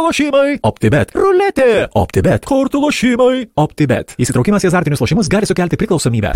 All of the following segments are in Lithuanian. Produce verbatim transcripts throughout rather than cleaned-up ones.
kortų lošimai, OptiBet, ruletė, OptiBet, kortų lošimai, OptiBet. Įsitraukimas į azartinius lošimus gali sukelti priklausomybę.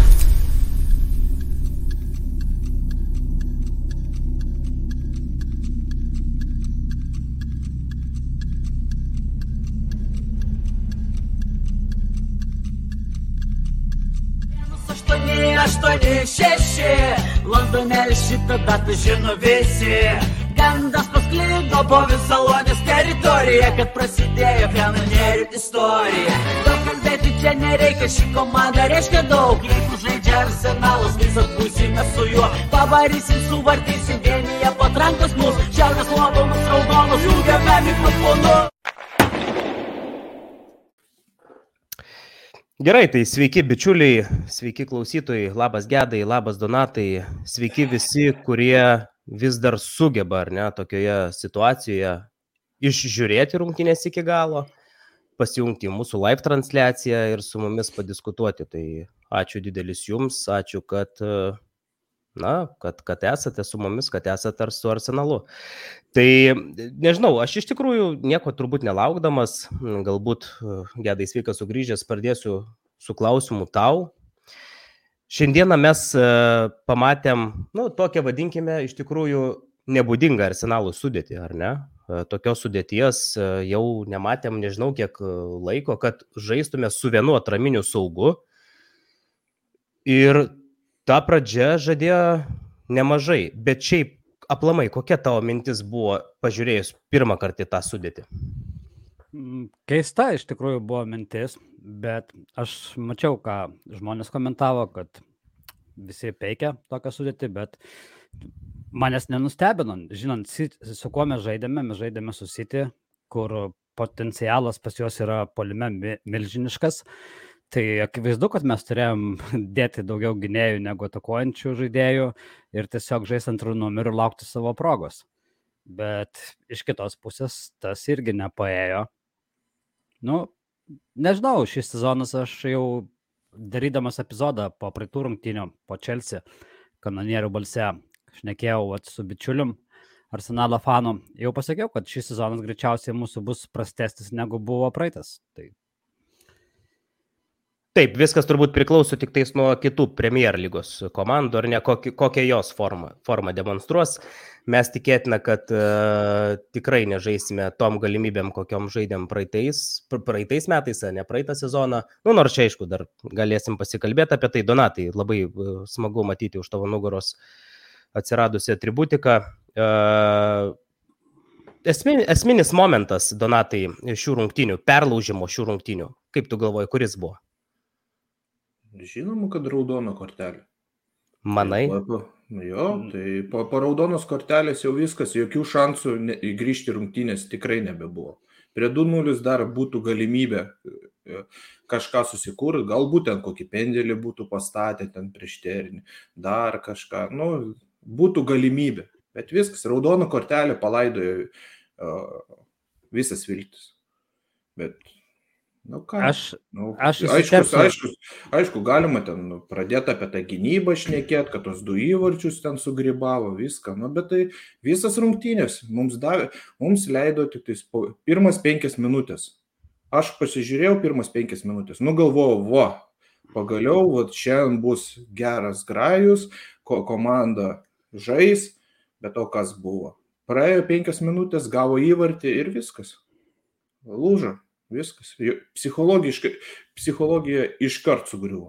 aštuoni šeši, Londone šitą datą žino visi. Gandas pasklido po visą Lonės teritoriją, kad prasidėjo kanonierių istorija. Daug kalbėti čia nereikia, ši komanda reiškia daug. Jeigu žaidžia Arsenalas, visas būsime su juo. Pavarysim, suvartysim, vienyje patrankos mus. Šiaurės Londonas raudonas, jungiame mikrofonu. Gerai, tai sveiki bičiuliai, sveiki klausytojai, labas Gedai, labas Donatai, sveiki visi, kurie vis dar sugeba, ar ne, tokioje situacijoje išžiūrėti rungtynės iki galo, pasijungti į mūsų live transliaciją ir su mumis padiskutuoti. Tai ačiū didelis jums, ačiū, kad, na, kad, kad esate su mumis, kad esate su Arsenalu. Tai nežinau, aš iš tikrųjų nieko turbūt nelaukdamas, galbūt Gedai sveikas sugrįžęs, pradėsiu su klausimu tau. Šiandieną mes pamatėm, nu, tokią vadinkime, iš tikrųjų nebūdingą Arsenalų sudėtį, ar ne? Tokios sudėties jau nematėm, nežinau kiek laiko, kad žaistume su vienu atraminiu saugu. Ir ta pradžia žadėjo nemažai, bet šiaip aplamai, kokia tavo mintis buvo pažiūrėjus pirmą kartą tą sudėtį? Keista iš tikrųjų buvo mintis, bet aš mačiau, ką žmonės komentavo, kad visi peikia tokią sudėtį, bet manęs nenustebino, žinant, su kuo mes žaidėme, mes žaidėme su City, kur potencialas pas juos yra puolime milžiniškas. Tai akivaizdu, kad mes turėjom dėti daugiau gynėjų negu atakuojančių žaidėjų ir tiesiog žaisti antrų numerų ir laukti savo progos. Bet iš kitos pusės tas irgi nepaėjo. Nu, nežinau, šis sezonas aš jau darydamas epizodą po praeitų rungtynių, po Chelsea kanonierių balse, šnekėjau vat, su bičiulium Arsenalo fanu, jau pasakiau, kad šis sezonas greičiausiai mūsų bus prastesnis negu buvo praeitas. Tai Taip, viskas turbūt priklauso tik tais nuo kitų Premier lygos komandų, ar ne, kokią, kokią jos formą, formą demonstruos. Mes tikėtina, kad uh, tikrai nežaisime tom galimybėm, kokiom žaidėm praeitais, praeitais metais, ne praeitą sezoną. Nu, nors čia, aišku, dar galėsim pasikalbėti apie tai. Donatai, labai uh, smagu matyti už tavo nugaros atsiradusią atributiką. Uh, esmin, esminis momentas, Donatai, šių rungtynių, perlaužimo šių rungtynių. Kaip tu galvoji, kuris buvo? Žinoma, kad raudono kortelė. Manai? Jo, tai po, po raudonos kortelės jau viskas, jokių šansų ne, grįžti rungtynės tikrai nebebuvo. Prie du nulis dar būtų galimybė kažką susikūrti, galbūt ten kokį pendelį būtų pastatę ten prieš Ternį, dar kažką, nu, būtų galimybė. Bet viskas, raudono kortelė palaidojo uh, visas viltis. Bet Nu, ką? Aš, nu, aš aiškus, aiškus, aišku, galima ten nu, pradėti apie tą gynybą šnekėti, kad tos du įvarčius ten sugribavo, viską, nu, bet tai visas rungtynės mums, davė, mums leido tik tais po, pirmas penkias minutės. Aš pasižiūrėjau pirmas penkias minutės, nu galvojau, va, pagaliau, va, šiandien bus geras grajus, ko, komanda žais, bet o kas buvo? Praėjo penkias minutės, gavo įvartį ir viskas. Lūžo. Viskas. Psichologiškai, psichologija iškart sugriuvo.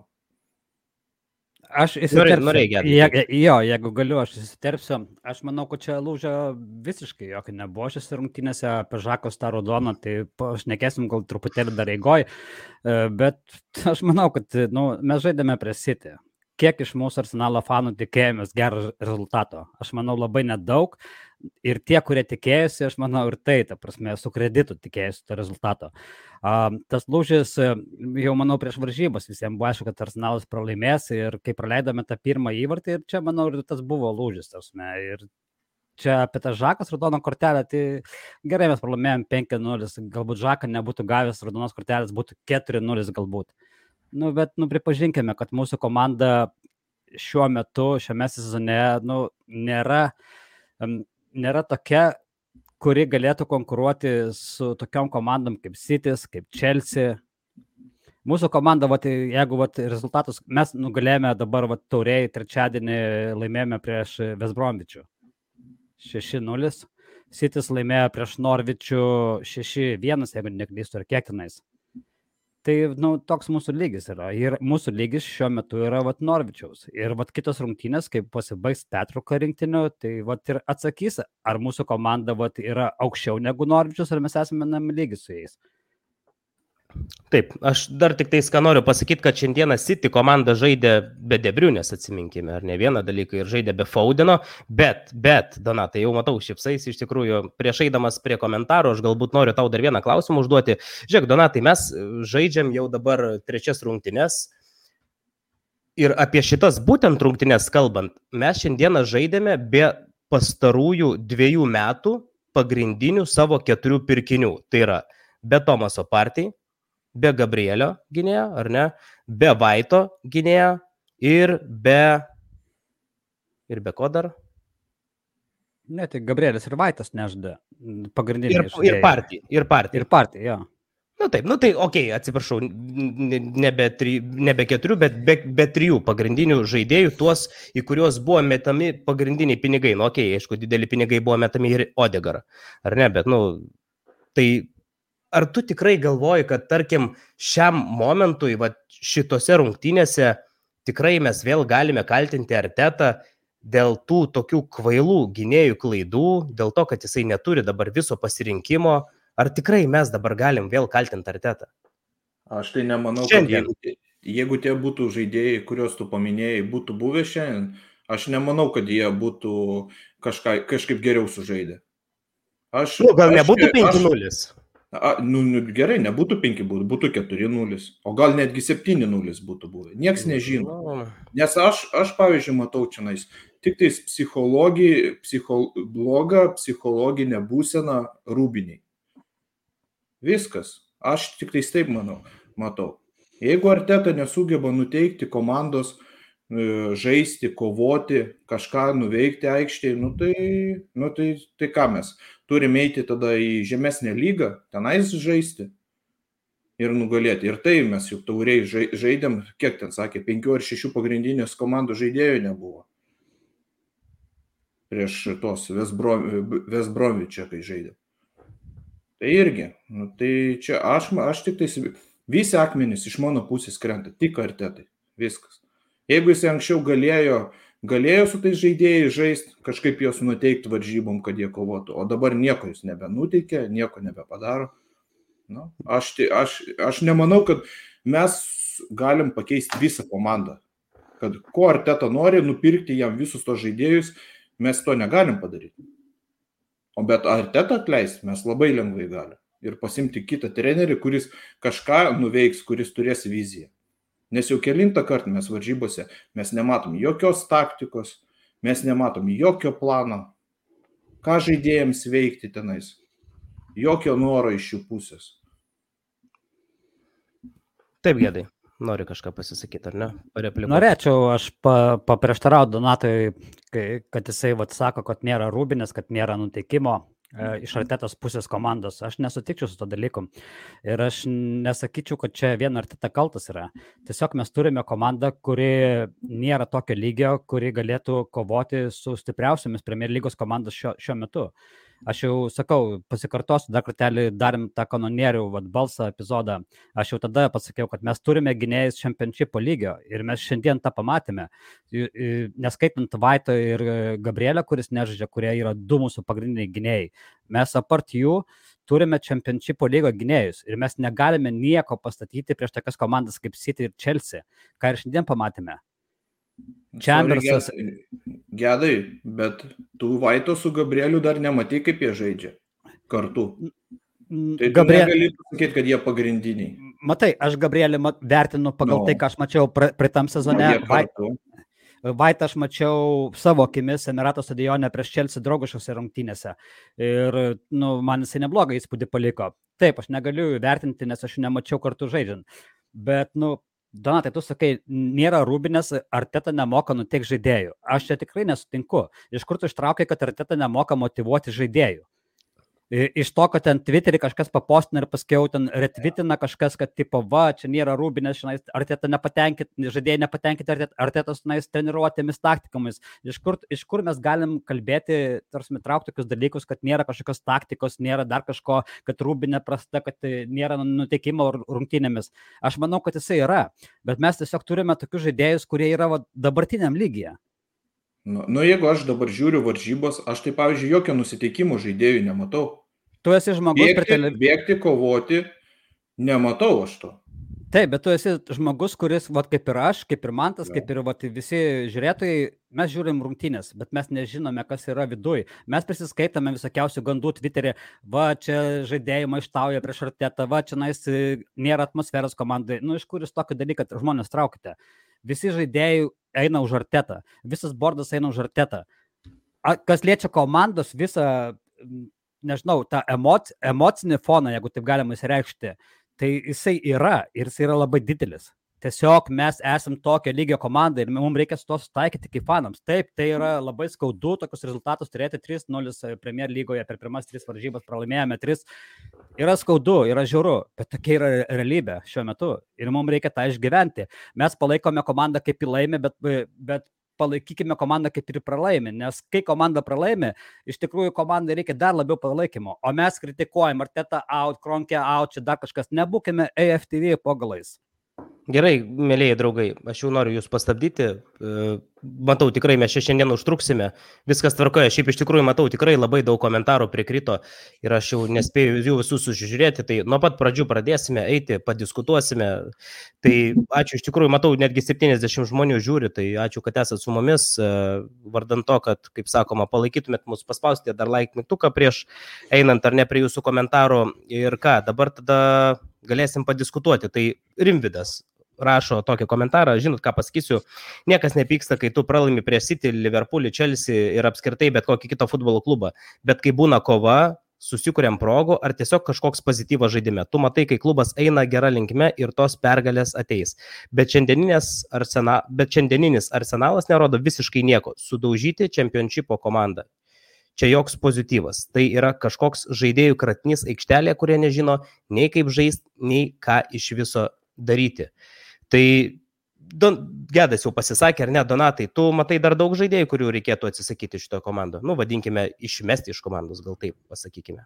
Aš įsiterpsiu. Je, jo, jeigu galiu, aš įsiterpsiu. Aš manau, kad čia lūžio visiškai jokio nebuvo šis rungtynėse apie Žakos tą raudoną, tai šnekėsim gal truputėlį dar eigoj, bet aš manau, kad nu, mes žaidėme prie City. Kiek iš mūsų Arsenalo fanų tikėjomės gerą rezultato? Aš manau, labai nedaug. Ir tie, kurie tikėjosi, aš manau, ir tai, ta prasme, su kreditu tikėjosi to rezultato. Uh, tas lūžis, jau manau, prieš varžybas visiems buvo aišku, kad Arsenalas pralaimės ir kai praleidome tą pirmą įvartį, ir čia, manau, ir tas buvo lūžis. Tasme. Ir čia apie tą Žakos raudoną kortelę, tai gerai mes pralaimėjom penki nulis, galbūt Žaką nebūtų gavęs raudonos kortelės, būtų keturi nulis galbūt. Nu, bet, nu, pripažinkime, kad mūsų komanda šiuo metu, šiame sezone, nu, nėra, um, nėra tokia, kuri galėtų konkuruoti su tokiom komandom kaip Citys, kaip Chelsea. Mūsų komanda, vat, jeigu vat, rezultatus, mes nugalėjome dabar vat, tauriai trečiadienį laimėjome prieš West Bromwich'ų šeši nulis. Citys laimėjo prieš Norwich'ų šeši vienas, jeigu neklystu, ar kiek tenais. Tai nu, toks mūsų lygis yra. Ir mūsų lygis šiuo metu yra vat, Norwich'aus. Ir vat, kitos rungtynės, kai pasibaigs pertrauka rinktinių, tai vat, ir atsakys, ar mūsų komanda vat, yra aukščiau negu Norwich'us, ar mes esame nam lygis su jais. Taip, aš dar tik tais ką noriu pasakyti, kad šiandieną City komanda žaidė be De Bruynes, atsiminkime, ar ne vieną dalyką, ir žaidė be Foudeno, bet, bet, Donatai, jau matau šipsais, iš tikrųjų, prieš eidamas prie komentarų, aš galbūt noriu tau dar vieną klausimą užduoti. Žiūrėk, Donatai, mes žaidžiam jau dabar trečias rungtynes ir apie šitas būtent rungtynes kalbant, mes šiandieną žaidėme be pastarųjų dviejų metų pagrindinių savo keturių pirkinių. Tai yra be Tomaso Partey, be Gabrielio gynėjo, ar ne, be Vaito gynėjo ir be... Ir be ko dar? Ne, tai Gabrielis ir Vaitas nežda pagrindiniai. Ir, ir Partey, ir Partey. Ir Partey, jo. Nu taip, nu tai, okei, okay, atsiprašau, nebe, tri, nebe keturių, bet be, be trijų pagrindinių žaidėjų, tuos, į kuriuos buvo metami pagrindiniai pinigai. Nu, okei, okay, aišku, dideli pinigai buvo metami ir Odegar, ar ne, bet, nu, tai... Ar tu tikrai galvoji, kad, tarkim, šiam momentui, va, šitose rungtynėse tikrai mes vėl galime kaltinti Artetą dėl tų tokių kvailų gynėjų klaidų, dėl to, kad jisai neturi dabar viso pasirinkimo? Ar tikrai mes dabar galim vėl kaltinti Artetą? Aš tai nemanau, šiandien. kad jeigu, jeigu tie būtų žaidėjai, kuriuos tu paminėjai, būtų buvę šiandien, aš nemanau, kad jie būtų kažką, kažkaip geriau sužaidę. Aš, nu, gal aš, nebūtų penki nulis? A, nu, nu, gerai, nebūtų penki, būtų, būtų keturi nulis, o gal netgi septyni nulis būtų buvę. Niekas nežino. Nes aš, aš pavyzdžiui, matau čianais tik tais psichologija, psicho, blogą psichologinę būseną Rūbiniai. Viskas. Aš tik tais taip manau, matau. Jeigu Arteta nesugeba nuteikti komandos, žaisti, kovoti, kažką nuveikti aikštėje, nu tai, nu tai, tai ką mes? Turime eiti tada į žemesnę lygą, tenais žaisti ir nugalėti. Ir tai mes juk tauriai žaidėm, kiek ten sakė, penkių ar šešių pagrindinės komandų žaidėjų nebuvo. Prieš tos West Bromwich'ą, kai žaidėm. Tai irgi, nu tai čia aš, aš tik tai, visi akmenys iš mano pusės krenta, tik Artetai, viskas. Jeigu jis anksčiau galėjo, galėjo su tais žaidėjai žaisti, kažkaip juos nuteikti varžybom, kad jie kovotų, o dabar nieko jis nebenuteikė, nieko nebepadaro. Nu, aš, aš, aš nemanau, kad mes galim pakeisti visą komandą. Kad ko Arteta nori, nupirkti jam visus tos žaidėjus, mes to negalim padaryti. O bet Arteta atleisti mes labai lengvai galim. Ir pasimti kitą trenerį, kuris kažką nuveiks, kuris turės viziją. Nes jau kelintą kartą mes varžybose, mes nematom jokios taktikos, mes nematom jokio plano, ką žaidėjams veikti tenais, jokio noro iš jų pusės. Taip, Gedai, nori kažką pasisakyti, ar ne? Pareplikuoti. Norėčiau, aš pa, paprieštarauju Donatui, kad jisai vat, sako, kad nėra Rūbinės, kad nėra nuteikimo iš Artetos pusės komandos. Aš nesutikčiau su to dalyku. Ir aš nesakyčiau, kad čia vien Arteta kaltas yra. Tiesiog mes turime komandą, kuri nėra tokio lygio, kuri galėtų kovoti su stipriausiamis Premier lygos komandos šio, šiuo metu. Aš jau sakau, pasikartosiu, dar kartelį darėm tą kanonierių vat, balsą epizodą. Aš jau tada pasakiau, kad mes turime gynėjus čempionšipo lygio ir mes šiandien tą pamatėme. Neskaitant Vaito ir Gabrielio, kuris nežaidžia, kurie yra du mūsų pagrindiniai gynėjai. Mes apart jų turime čempionšipo lygo gynėjus ir mes negalime nieko pastatyti prieš tokias komandas kaip City ir Chelsea, ką ir šiandien pamatėme. Chambersas. Gedai, bet tu Vaito su Gabrieliu dar nematai, kaip jie žaidžia kartu. Tai Gabriel... tu negali pasakyti, kad jie pagrindiniai. Matai, aš Gabrielį vertinu pagal no. tai, ką aš mačiau praeitam sezone. No, Vaitą aš mačiau savo akimis Emirato stadione prieš Chelsea draugiškose rungtynėse. Ir nu, man jisai neblogą įspūdį paliko. Taip, aš negaliu vertinti, nes aš nemačiau kartu žaidžiant. Bet, nu, Donatai, tu sakai, nėra Rūbinės, Arteta nemoka nuteikti žaidėjų. Aš čia tikrai nesutinku. Iš kur tu ištraukai, kad Arteta nemoka motyvuoti žaidėjų? Iš to, kad ten Twitter'į kažkas papostina ir paskiau ten retvitina kažkas, kad tipo, va, čia nėra Rūbinės, Arteta nepatenkinti, žaidėjai nepatenkinti Artetos treniruotėmis taktikomis. Iš kur, iš kur mes galim kalbėti, tarsi traukti tokius dalykus, kad nėra kažkokios taktikos, nėra dar kažko, kad Rūbinė prasta, kad nėra nuteikimo rungtynėmis. Aš manau, kad jisai yra, bet mes tiesiog turime tokius žaidėjus, kurie yra va, dabartiniam lygyje. Nu, nu, jeigu aš dabar žiūriu varžybos, aš tai, pavyzdžiui, jokio nusiteikimo žaidėjų nematau. Tu esi žmogus... Bėgti, tele... bėgti, kovoti, nematau aš to. Taip, bet tu esi žmogus, kuris, vat, kaip ir aš, kaip ir Mantas, kaip ir vat, visi žiūrėtojai, mes žiūrim rungtynės, bet mes nežinome, kas yra viduj. Mes prisiskaitame visokiausių gandų Twitter'e, va, čia žaidėjai maištauja prieš Artetą, va, čia nais nėra atmosferos komandai. Nu, iš kur jūs tokį dalyką žmonės traukite? Visi žaidėjai eina už Artetą, visas bordas eina už Artetą. Kas liečia komandos visą, nežinau, tą emoc, emocinį foną, jeigu taip galima įsireikšti, tai jisai yra ir jisai yra labai didelis. Tiesiog mes esam tokio lygio komanda ir mums reikia su to sutaikyti kaip fanams. Taip, tai yra labai skaudu tokius rezultatus turėti trys nulis Premier lygoje per pirmas tris varžybas, pralaimėjome tris. Yra skaudu, yra žiauru, bet tokia yra realybė šiuo metu ir mums reikia tą išgyventi. Mes palaikome komandą kaip į laimę, bet, bet palaikykime komandą kaip ir pralaimė, nes kai komanda pralaimė, iš tikrųjų komandai reikia dar labiau palaikymo, o mes kritikuojam Arteta out, Kronkė out, čia dar kažkas, nebūkime A F T V po galais. Gerai, mėlėjai draugai, aš jau noriu jūs pastabdyti, matau, tikrai mes čia šiandien užtruksime, viskas tvarkoja, šiaip iš tikrųjų matau, tikrai labai daug komentarų prikrito ir aš jau nespėjau jų visus sužiūrėti, tai nuo pat pradžių pradėsime eiti, padiskutuosime, tai ačiū, iš tikrųjų matau, netgi septyniasdešimt žmonių žiūri, tai ačiū, kad esat su mumis, vardant to, kad, kaip sakoma, palaikytumėt mus, paspaustė dar like mygtuką prieš einant ar ne prie jūsų komentarų ir ką, dabar tada galėsim padiskutuoti, tai Rimvydas rašo tokį komentarą, žinot, ką pasakysiu, niekas nepyksta, kai tu pralaimi prieš City, Liverpoolį, Chelsea ir apskritai bet kokį kitą futbolo klubą, bet kai būna kova, susikuriam progų ar tiesiog kažkoks pozityvas žaidime. Tu matai, kai klubas eina gera linkme ir tos pergalės ateis. Bet šiandieninis, arsena, bet šiandieninis arsenalas nerodo visiškai nieko. Sudaužyti čempionšipo komandą. Čia joks pozityvas. Tai yra kažkoks žaidėjų kratinys aikštelė, kurie nežino nei kaip žaisti, nei ką iš viso daryti. Tai Don, Gedas jau pasisakė, ar ne, Donatai, tu matai dar daug žaidėjų, kurių reikėtų atsisakyti šito komandą. Nu, vadinkime, išmesti iš komandos, gal taip pasakykime.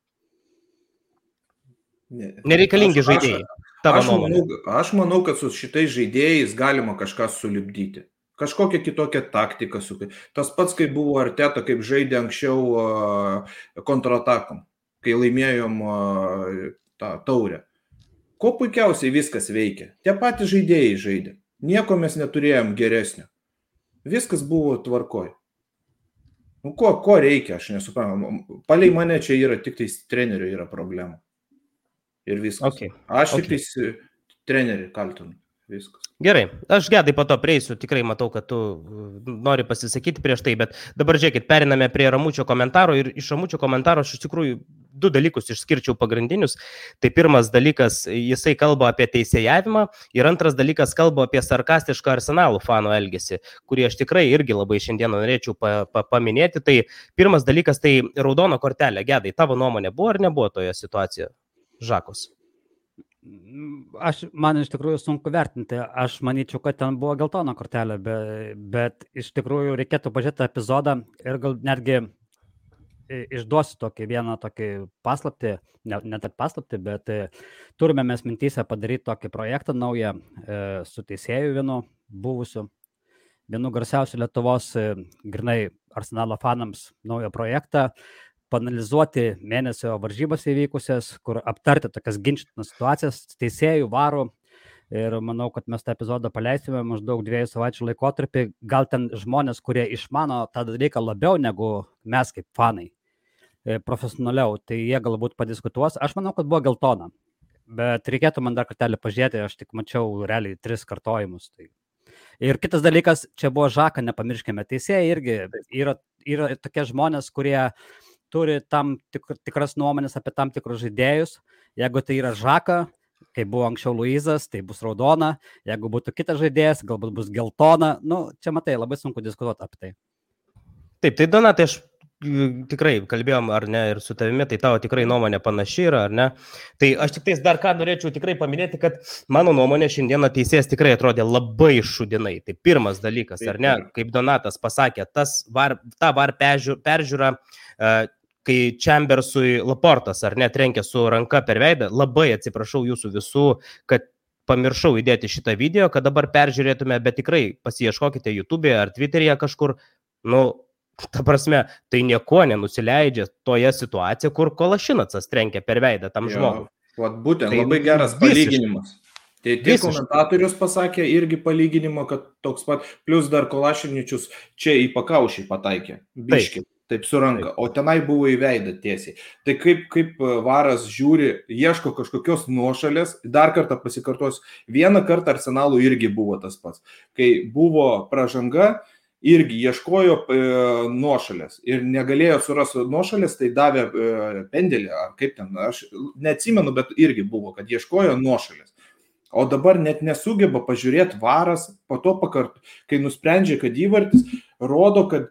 Ne, Nereikalingi aš, žaidėjai. Aš, aš, manau, aš manau, kad su šitais žaidėjais galima kažką sulipdyti. Kažkokią kitokią taktiką. Tas pats, kaip buvo Arteta, kaip žaidė anksčiau uh, kontratakom, kai laimėjom uh, tą taurę. Ko puikiausiai viskas veikia. Tie patys žaidėjai žaidė. Nieko mes neturėjom geresnio. Viskas buvo tvarkoj. Nu, ko, ko reikia, aš nesuprantu. Palei mane čia yra tik tais trenerių yra problema. Ir viskas. Okay. Aš okay. tik tais trenerių kaltinu. Viskas. Gerai, aš Gedai po to prieisiu, tikrai matau, kad tu nori pasisakyti prieš tai, bet dabar žiūrėkit, periname prie Ramučio komentaro ir iš Ramučio komentaro aš iš tikrųjų du dalykus išskirčiau pagrindinius. Tai pirmas dalykas, jisai kalba apie teisėjavimą ir antras dalykas kalba apie sarkastišką Arsenalo fanų elgesį, kurį aš tikrai irgi labai šiandien norėčiau pa, pa, paminėti. Tai pirmas dalykas, tai raudono kortelė. Gedai, tavo nuomonė buvo ar nebuvo toje situacijoje? Žakos. Aš, man iš tikrųjų sunku vertinti, aš manyčiau, kad ten buvo geltona kortelė, bet, bet iš tikrųjų reikėtų pažiūrėti epizodą ir gal netgi išduosiu tokį vieną tokį paslaptį, ne, ne tik paslaptį, bet turime mes mintyse padaryti tokį projektą naują e, su teisėju vienu buvusiu, vienu garsiausiu Lietuvos e, grinai Arsenalo fanams naują projektą, panalizuoti mėnesio varžybas įvykusias, kur aptarti tokias ginčytinas situacijas teisėjų, varų. Ir manau, kad mes tą epizodą paleisime maždaug dviejų savaičių laikotarpį. Gal ten žmonės, kurie išmano tą dalyką labiau negu mes kaip fanai, profesionaliau, tai jie galbūt padiskutuos. Aš manau, kad buvo geltona. Bet reikėtų man dar kartelį pažiūrėti, aš tik mačiau realiai tris kartojimus. Tai. Ir kitas dalykas, čia buvo Žaka, nepamirškime. Teisėjai irgi yra, yra tokie žmonės, kurie turi tam tik, tikras nuomonės apie tam tikrus žaidėjus. Jeigu tai yra Žaka, kai buvo anksčiau Luizas, tai bus raudona. Jeigu būtų kitas žaidėjas, galbūt bus geltona. Nu, čia matai, labai sunku diskutuoti apie tai. Taip, tai Donatai, aš tikrai kalbėjom, ar ne, ir su tavimi, tai tavo tikrai nuomonė panaši yra, ar ne. Tai aš tik tais dar ką norėčiau tikrai paminėti, kad mano nuomonė šiandieną teisėjas tikrai atrodė labai šudinai. Tai pirmas dalykas, ar ne, kaip Donatas pasakė, tas var, ta var peržiūra, kai Chambersui Laportas, ar ne, trenkė su ranka per veidą, labai atsiprašau jūsų visų, kad pamiršau įdėti šitą video, kad dabar peržiūrėtume, bet tikrai pasiieškokite YouTube'e ar Twitter'e kažkur, nu, ta prasme, tai nieko nenusileidžia toje situacijoje, kur Kolašinacas trenkė per veidą tam žmogui. Vat būtent, tai labai geras palyginimas. Tai tie komentatorius pasakė irgi palyginimą, kad toks pat, plus dar Kolašiničius čia į pakaušį pataikė, biškį. Taip su ranka, o tenai buvo į veidą tiesiai. Tai kaip, kaip varas žiūri, ieško kažkokios nuošalės, dar kartą pasikartos, vieną kartą Arsenalų irgi buvo tas pats. Kai buvo pražanga, irgi ieškojo e, nuošalės ir negalėjo surasti nuošalės, tai davė e, pendelį, ar kaip ten, aš neatsimenu, bet irgi buvo, kad ieškojo nuošalės. O dabar net nesugeba pažiūrėti varas, po to pakart, kai nusprendžia, kad įvartis, rodo, kad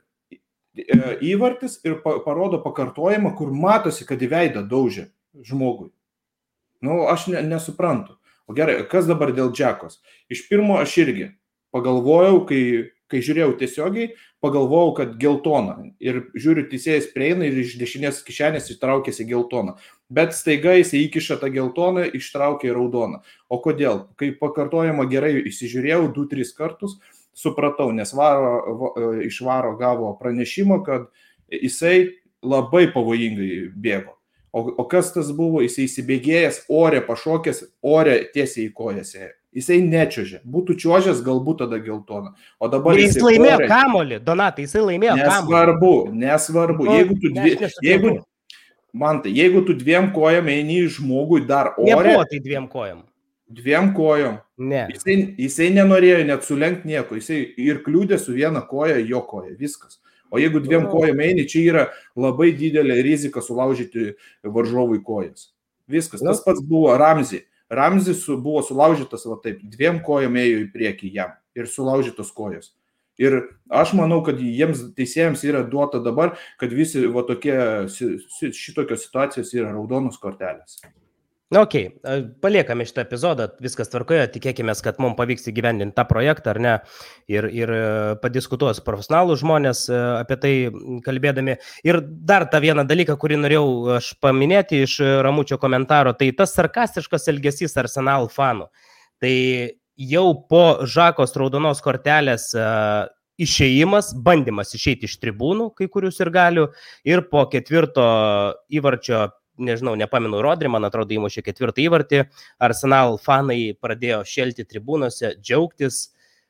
įvartis ir parodo pakartojimą, kur matosi, kad į veidą daužė žmogui. Nu, aš ne, nesuprantu. O gerai, kas dabar dėl Džekos? Iš pirmo aš irgi pagalvojau, kai, kai žiūrėjau tiesiogiai, pagalvojau, kad geltona. Ir žiūriu, teisėjas prieina ir iš dešinės kišenės ištraukėsi geltoną. Bet staiga jis įkiša tą geltoną, ištraukė į raudoną. O kodėl? Kai pakartojimą gerai įsižiūrėjau du tris kartus, supratau, nes varo, iš varo gavo pranešimą, kad jisai labai pavojingai bėgo. O, o kas tas buvo? Jisai įsibėgėjęs, ore pašokęs, ore tiesiai į kojas. Jisai nečiuožė. Būtų čiuožęs, galbūt tada geltona. O dabar jis laimėjo ore... kamolį, Donatai, jisai laimėjo kamolį. Nesvarbu, nesvarbu. Nu, jeigu tu, dvi, jeigu, man tai, jeigu tu dviem kojam eini žmogui dar ore... Nebuvo tai dviem kojam. Dviem kojom. Ne. Jisai, jisai nenorėjo net sulenkt nieko. Jisai ir kliūdė su viena koja, jo koja. Viskas. O jeigu dviem kojom eini, čia yra labai didelė rizika sulaužyti varžovui kojas. Viskas. Tas pats buvo Ramzi. Ramzi su, buvo sulaužytas va taip. Dviem kojom ėjo į priekį jam. Ir sulaužytos kojas. Ir aš manau, kad jiems teisėjams yra duota dabar, kad visi va tokie, šitokios situacijos yra raudonos kortelės. Na, okei, okay. Paliekame šitą epizodą, viskas tvarkoje, tikėkime, kad mums pavyks įgyvendinti tą projektą, ar ne, ir, ir padiskutuos profesionalų žmonės apie tai kalbėdami. Ir dar tą vieną dalyką, kurį norėjau aš paminėti iš Ramučio komentaro, tai tas sarkastiškas elgesys Arsenal fanų. Tai jau po Žakos raudonos kortelės išėjimas, bandymas išeiti iš tribūnų, kai kurių sirgalių, ir po ketvirto įvarčio, nežinau, nepamenu Rodri, man atrodo, įmušė ketvirtą įvartį, Arsenal fanai pradėjo šelti tribūnose, džiaugtis.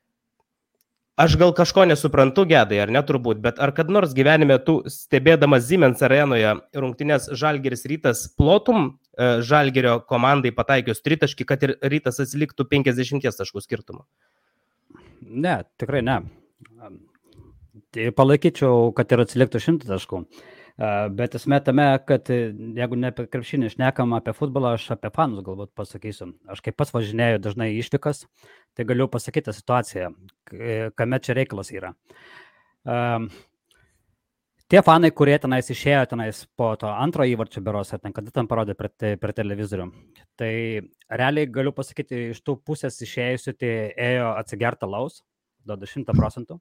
Aš gal kažko nesuprantu, Gedai, ar ne turbūt, bet ar kad nors gyvenime tu, stebėdamas Siemens arenoje rungtynės Žalgiris Rytas, plotum Žalgirio komandai pataikius tritaškį, kad ir Rytas atsiliktų penkiasdešimt taškų skirtumą? Ne, tikrai ne. Tai palaikyčiau, kad ir atsiliktų šimtą taškų. Bet esmė tame, kad jeigu ne apie krepšinį šnekam apie futbolą, aš apie fanus galbūt pasakysiu. Aš kaip pats važinėju dažnai išvykas, tai galiu pasakyti situaciją, kame čia reikalas yra. Um, tie fanai, kurie tenais išėjo tenais po to antro įvarčio beros, ar ten kada ten parodė per, te, per televizorių, tai realiai galiu pasakyti, iš tų pusės išėjusių, tai ėjo atsigerti alaus, duoda šimtą procentų.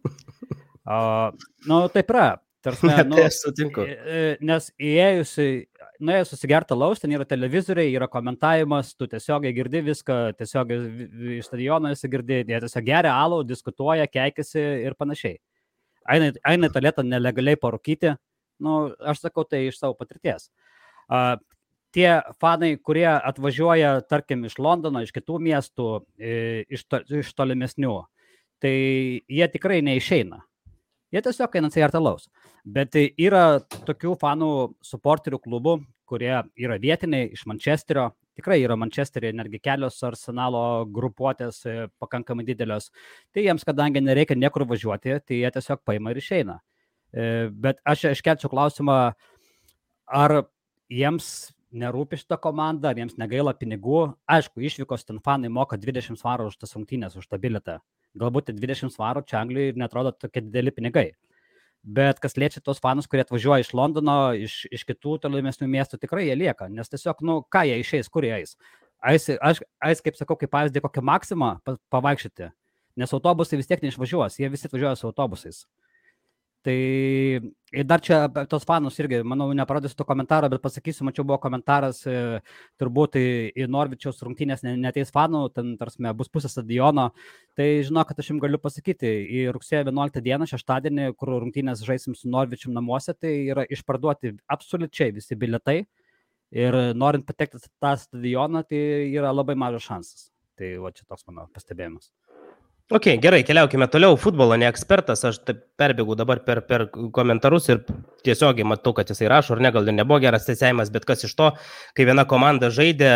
Uh, nu, taip yra. Tarsime, nu, tai aš sutinku. Nes įėjusi, nuėjus susigerti alaus, ten yra televizoriai, yra komentavimas, tu tiesiogiai girdi viską, tiesiogiai iš stadiono esi girdi, jie tiesiog geria alų, diskutuoja, keikisi ir panašiai. Eina, eina į tualetą nelegaliai parūkyti, nu, aš sakau tai iš savo patirties. Uh, tie fanai, kurie atvažiuoja, tarkim, iš Londono, iš kitų miestų, iš, to, iš tolimesnių, tai jie tikrai neišeina. Jie tiesiog eina atsigerti alaus. Bet yra tokių fanų suporterių klubų, kurie yra vietiniai iš Mančesterio. Tikrai yra Mančesteryje netgi kelios Arsenalo grupuotės pakankamai didelios. Tai jiems, kadangi nereikia niekur važiuoti, tai jie tiesiog paima ir išeina. Bet aš iškelčiau klausimą, ar jiems nerūpi šitą komandą, ar jiems negaila pinigų. Aišku, išvykos ten fanai moka dvidešimt svarų už tas rungtynes, už tą bilietą. Galbūt dvidešimt svarų čia Anglijoje netrodo tokie dideli pinigai. Bet kas liečia tos fanus, kurie atvažiuoja iš Londono, iš, iš kitų tolimesnių miestų, tikrai jie lieka, nes tiesiog, nu, ką jie išeis, kur jie eis. Ais, aš, aš, kaip sakau, kaip pavyzdį, kokią maksimą pavaikščioti, nes autobusai vis tiek neišvažiuos, jie visi atvažiuoja su autobusais. Tai dar čia tos fanus irgi, manau, neparodysiu to komentaro, bet pasakysiu, mačiau buvo komentaras, turbūt į, į Norvičiaus rungtynės neteis fanų, ten tarsi bus pusė stadiono. Tai žinok, kad aš jums galiu pasakyti, į rugsėjo vienuoliktą dieną, šeštadienį, kur rungtynės žaisim su Norvičium namuose, tai yra išparduoti absoliučiai visi bilietai. Ir norint patekti tą stadioną, tai yra labai mažas šansas. Tai va čia toks mano pastebėjimas. Ok, gerai, keliaukime toliau. Futbolo ne ekspertas, aš taip perbėgu dabar per, per komentarus ir tiesiogiai matau, kad jisai rašo, ar ne, gal ir nebuvo geras teisėjimas, bet kas iš to, kai viena komanda žaidė,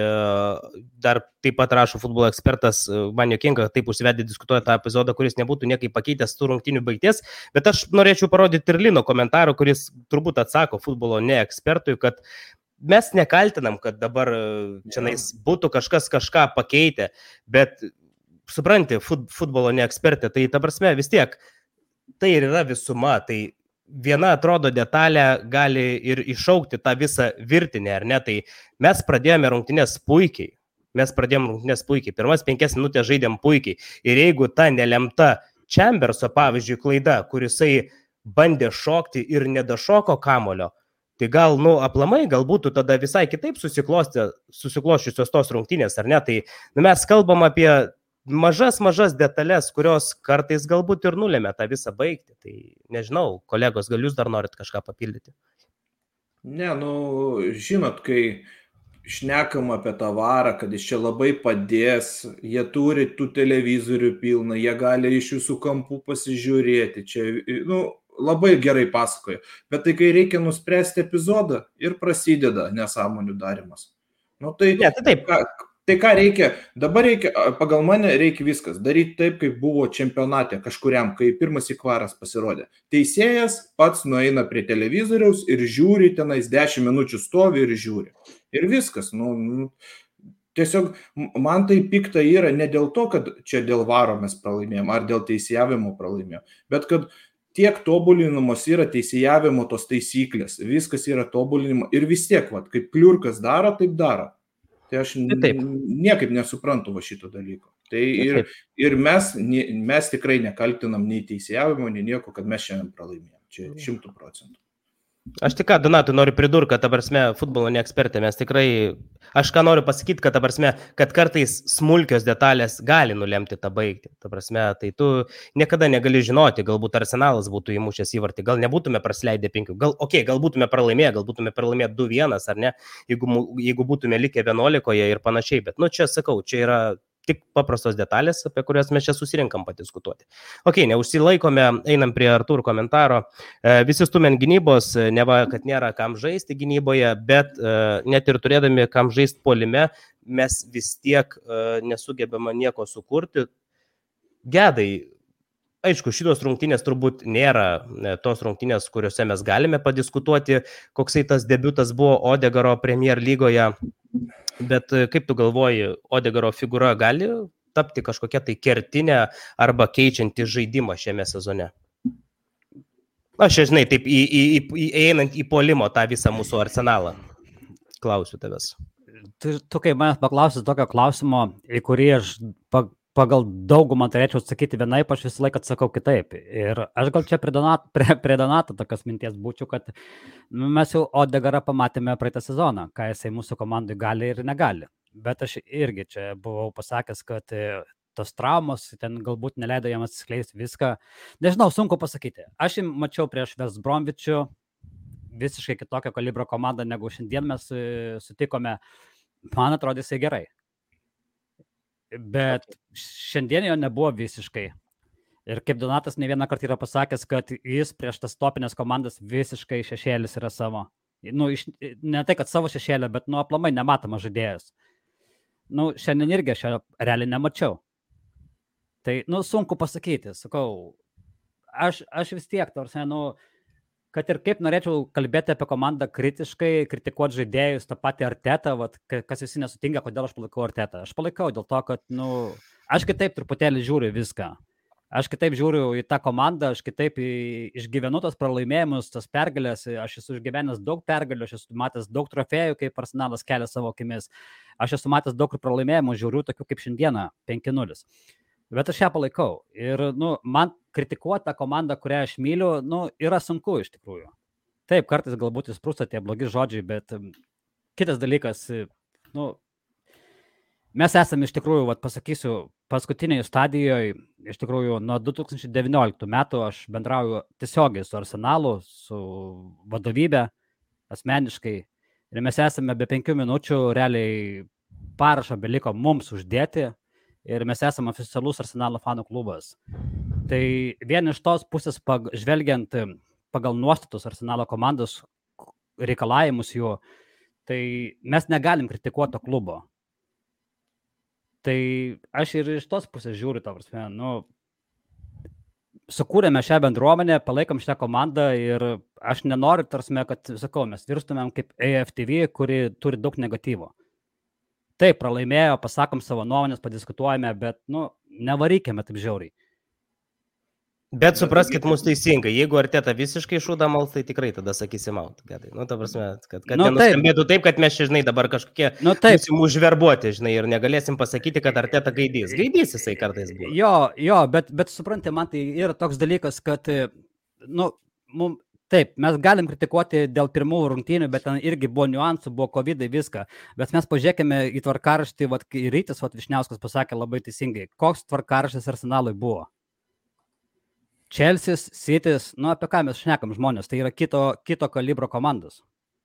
dar taip pat rašo futbolo ekspertas, man jokinga, taip užsivedė diskutuoja tą epizodą, kuris nebūtų niekai pakeitęs tų rungtynių baigties, bet aš norėčiau parodyti ir Lino komentarą, kuris turbūt atsako futbolo ne ekspertui, kad mes nekaltinam, kad dabar čianais būtų kažkas kažką pakeitę, bet supranti, fut, futbolo neekspertė, tai ta prasme vis tiek, tai ir yra visuma, tai viena atrodo detalė gali ir iššaukti tą visą virtinę, ar ne, tai mes pradėjome rungtynės puikiai, mes pradėjome rungtynės puikiai, pirmas penkias minutės žaidėm puikiai, ir jeigu ta nelemta Chamberso, pavyzdžiui, klaida, kurisai bandė šokti ir nedašoko kamulio, tai gal, nu, aplamai, gal būtų tada visai kitaip susikloščiusios tos rungtynės, ar ne, tai nu, mes kalbam apie mažas, mažas detalės, kurios kartais galbūt ir nulėmė tą visą baigti. Tai nežinau, kolegos, gal jūs dar norit kažką papildyti? Ne, nu, žinot, kai šnekam apie tą varą, kad jis čia labai padės, jie turi tų televizorių pilną, jie gali iš jūsų kampų pasižiūrėti, čia, nu, labai gerai pasakoja. Bet tai, kai reikia nuspręsti epizodą, ir prasideda nesąmonių darimas. Nu, tai, ne, tai taip. Ką, Tai ką reikia, dabar reikia, pagal mane reikia viskas, daryti taip, kaip buvo čempionate kažkuriam, kai pirmas įkvaras pasirodė. Teisėjas pats nueina prie televizoriaus ir žiūri, tenais dešimt minučių stovi ir žiūri. Ir viskas, nu, tiesiog man tai pikta yra ne dėl to, kad čia dėl varo mes pralaimėjom, ar dėl teisėjavimo pralaimėjom, bet kad tiek tobulinamos yra teisėjavimo tos taisyklės, viskas yra tobulinimo ir vis tiek, vat, kaip kliurkas daro, taip daro. Tai aš taip. niekaip nesuprantu va šito dalyko. Tai ir, ir mes, mes tikrai nekaltinam nei teisėjavimo, nei nieko, kad mes šiandien pralaimėjom. Čia šimtų procentų. Aš tik ką, Donatai, noriu pridurti, kad, ta prasme, futbolo neekspertė, mes tikrai, aš ką noriu pasakyti, kad, ta prasme, kad kartais smulkios detalės gali nulemti tą baigtį. Ta prasme, tai tu niekada negali žinoti, galbūt Arsenalas būtų įmušęs įvartį, gal nebūtume prasileidę penkių, gal, okei, okay, gal būtume pralaimėję, gal būtume pralaimėję du vienas, ar ne, jeigu, jeigu būtume likę vienuolikoje ir panašiai, bet, nu, čia sakau, čia yra tik paprastos detalės, apie kurias mes čia susirinkam padiskutuoti. Ok, neužsilaikome, einam prie Artūro komentaro. E, visi stumen gynybos, neva, kad nėra kam žaisti gynyboje, bet e, net ir turėdami kam žaisti puolime, mes vis tiek e, nesugebame nieko sukurti. Gedai, aišku, šitos rungtynės turbūt nėra e, tos rungtynės, kuriuose mes galime padiskutuoti, koksai tas debiutas buvo Odegaro Premier lygoje. Bet kaip tu galvoji, Odegaro figūra gali tapti kažkokia tai kertinė arba keičianti žaidimą šiame sezone? Aš, žinai, taip į, į, į, einant į puolimo tą visą mūsų arsenalą. Klausiu tavęs. Tu, tu kai manęs paklausi tokio klausimo, į kurį aš pagal daugumą turėčiau atsakyti vienaip, aš visą laiką atsakau kitaip. Ir aš gal čia prie Donato, prie, prie Donato tokios minties būčiau, kad nu, mes jau Odegarą pamatėme praeitą sezoną, ką jisai mūsų komandai gali ir negali. Bet aš irgi čia buvau pasakęs, kad tos traumos ten galbūt neleido jam atsiskleisti viską. Nežinau, sunku pasakyti. Aš jį mačiau prieš West Bromwich'ų visiškai kitokio kalibro komandą, negu šiandien mes sutikome. Man atrodė jisai gerai. Bet šiandien jo nebuvo visiškai. Ir kaip Donatas ne vieną kartą yra pasakęs, kad jis prieš tas topinės komandas visiškai šešėlis yra savo. Nu, iš, ne tai, kad savo šešėlę, bet nu, aplamai nematomas žaidėjas. Nu, šiandien irgi aš realiai nemačiau. Tai, nu, sunku pasakyti. Sakau, aš, aš vis tiek, tarsi, nu, kad ir kaip norėčiau kalbėti apie komandą kritiškai, kritikuoti žaidėjus, tą patį Artetą, vat, kas visi nesutinka, kodėl aš palaikau Artetą. Aš palaikau dėl to, kad, nu, aš kitaip truputėlį žiūriu viską. Aš kitaip žiūriu į tą komandą, aš kitaip išgyvenu tos pralaimėjimus, tas pergalės, aš esu išgyvenęs daug pergalių, aš esu matęs daug trofėjų, kaip Arsenalas kelia savo akimis, aš esu matęs daug pralaimėjimų, žiūriu tokių kaip šiandieną, penki nulis. Bet aš ją palaikau ir nu, man kritikuoti tą komandą, kurią aš myliu, nu, yra sunku iš tikrųjų. Taip, kartais galbūt įsprūsta tie blogi žodžiai, bet kitas dalykas, nu, mes esame iš tikrųjų, vat, pasakysiu, paskutinėje stadijoje, iš tikrųjų, nuo du tūkstančiai devynioliktų metų aš bendrauju tiesiogiai su Arsenalu, su vadovybė, asmeniškai. Ir mes esame be penkių minučių, realiai parašą beliko mums uždėti ir mes esame oficialus Arsenalo fanų klubas. Tai vien iš tos pusės, pag, žvelgiant pagal nuostatus Arsenalo komandos reikalavimus jų, tai mes negalim kritikuoti to klubo. Tai aš ir iš tos pusės žiūriu, ta prasme, nu, sukūrėme šią bendruomenę, palaikom šią komandą ir aš nenoriu, tarsime, kad, sakau, mes virstumėm kaip A F T V, kuri turi daug negatyvo. Taip, pralaimėjo, pasakom savo nuomonės, padiskutuojame, bet, nu, nevarykime taip žiauriai. Bet supraskit mus teisingai, jeigu Arteta visiškai šūda mals, tai tikrai tada sakysim out. Nu, ta prasme, kad, kad nu, nenuskambėtų taip, kad mes, žinai, dabar kažkokie nu, būsim užverbuoti, žinai, ir negalėsim pasakyti, kad Arteta gaidys. Gaidys jisai kartais buvo. Jo, jo, bet, bet suprantate, man tai yra toks dalykas, kad, nu, mum, taip, mes galim kritikuoti dėl pirmų rungtynių, bet ten irgi buvo niuansų, buvo kovidai, viską. Bet mes pažiūrėkime į tvarkaraštį, vat, Rytis vat, Višniauskas pasakė labai teisingai, koks tvarkaraštis Arsenalui buvo. Chelsea, City's, nu apie ką mes šnekam žmonės, tai yra kito, kito kalibro komandos.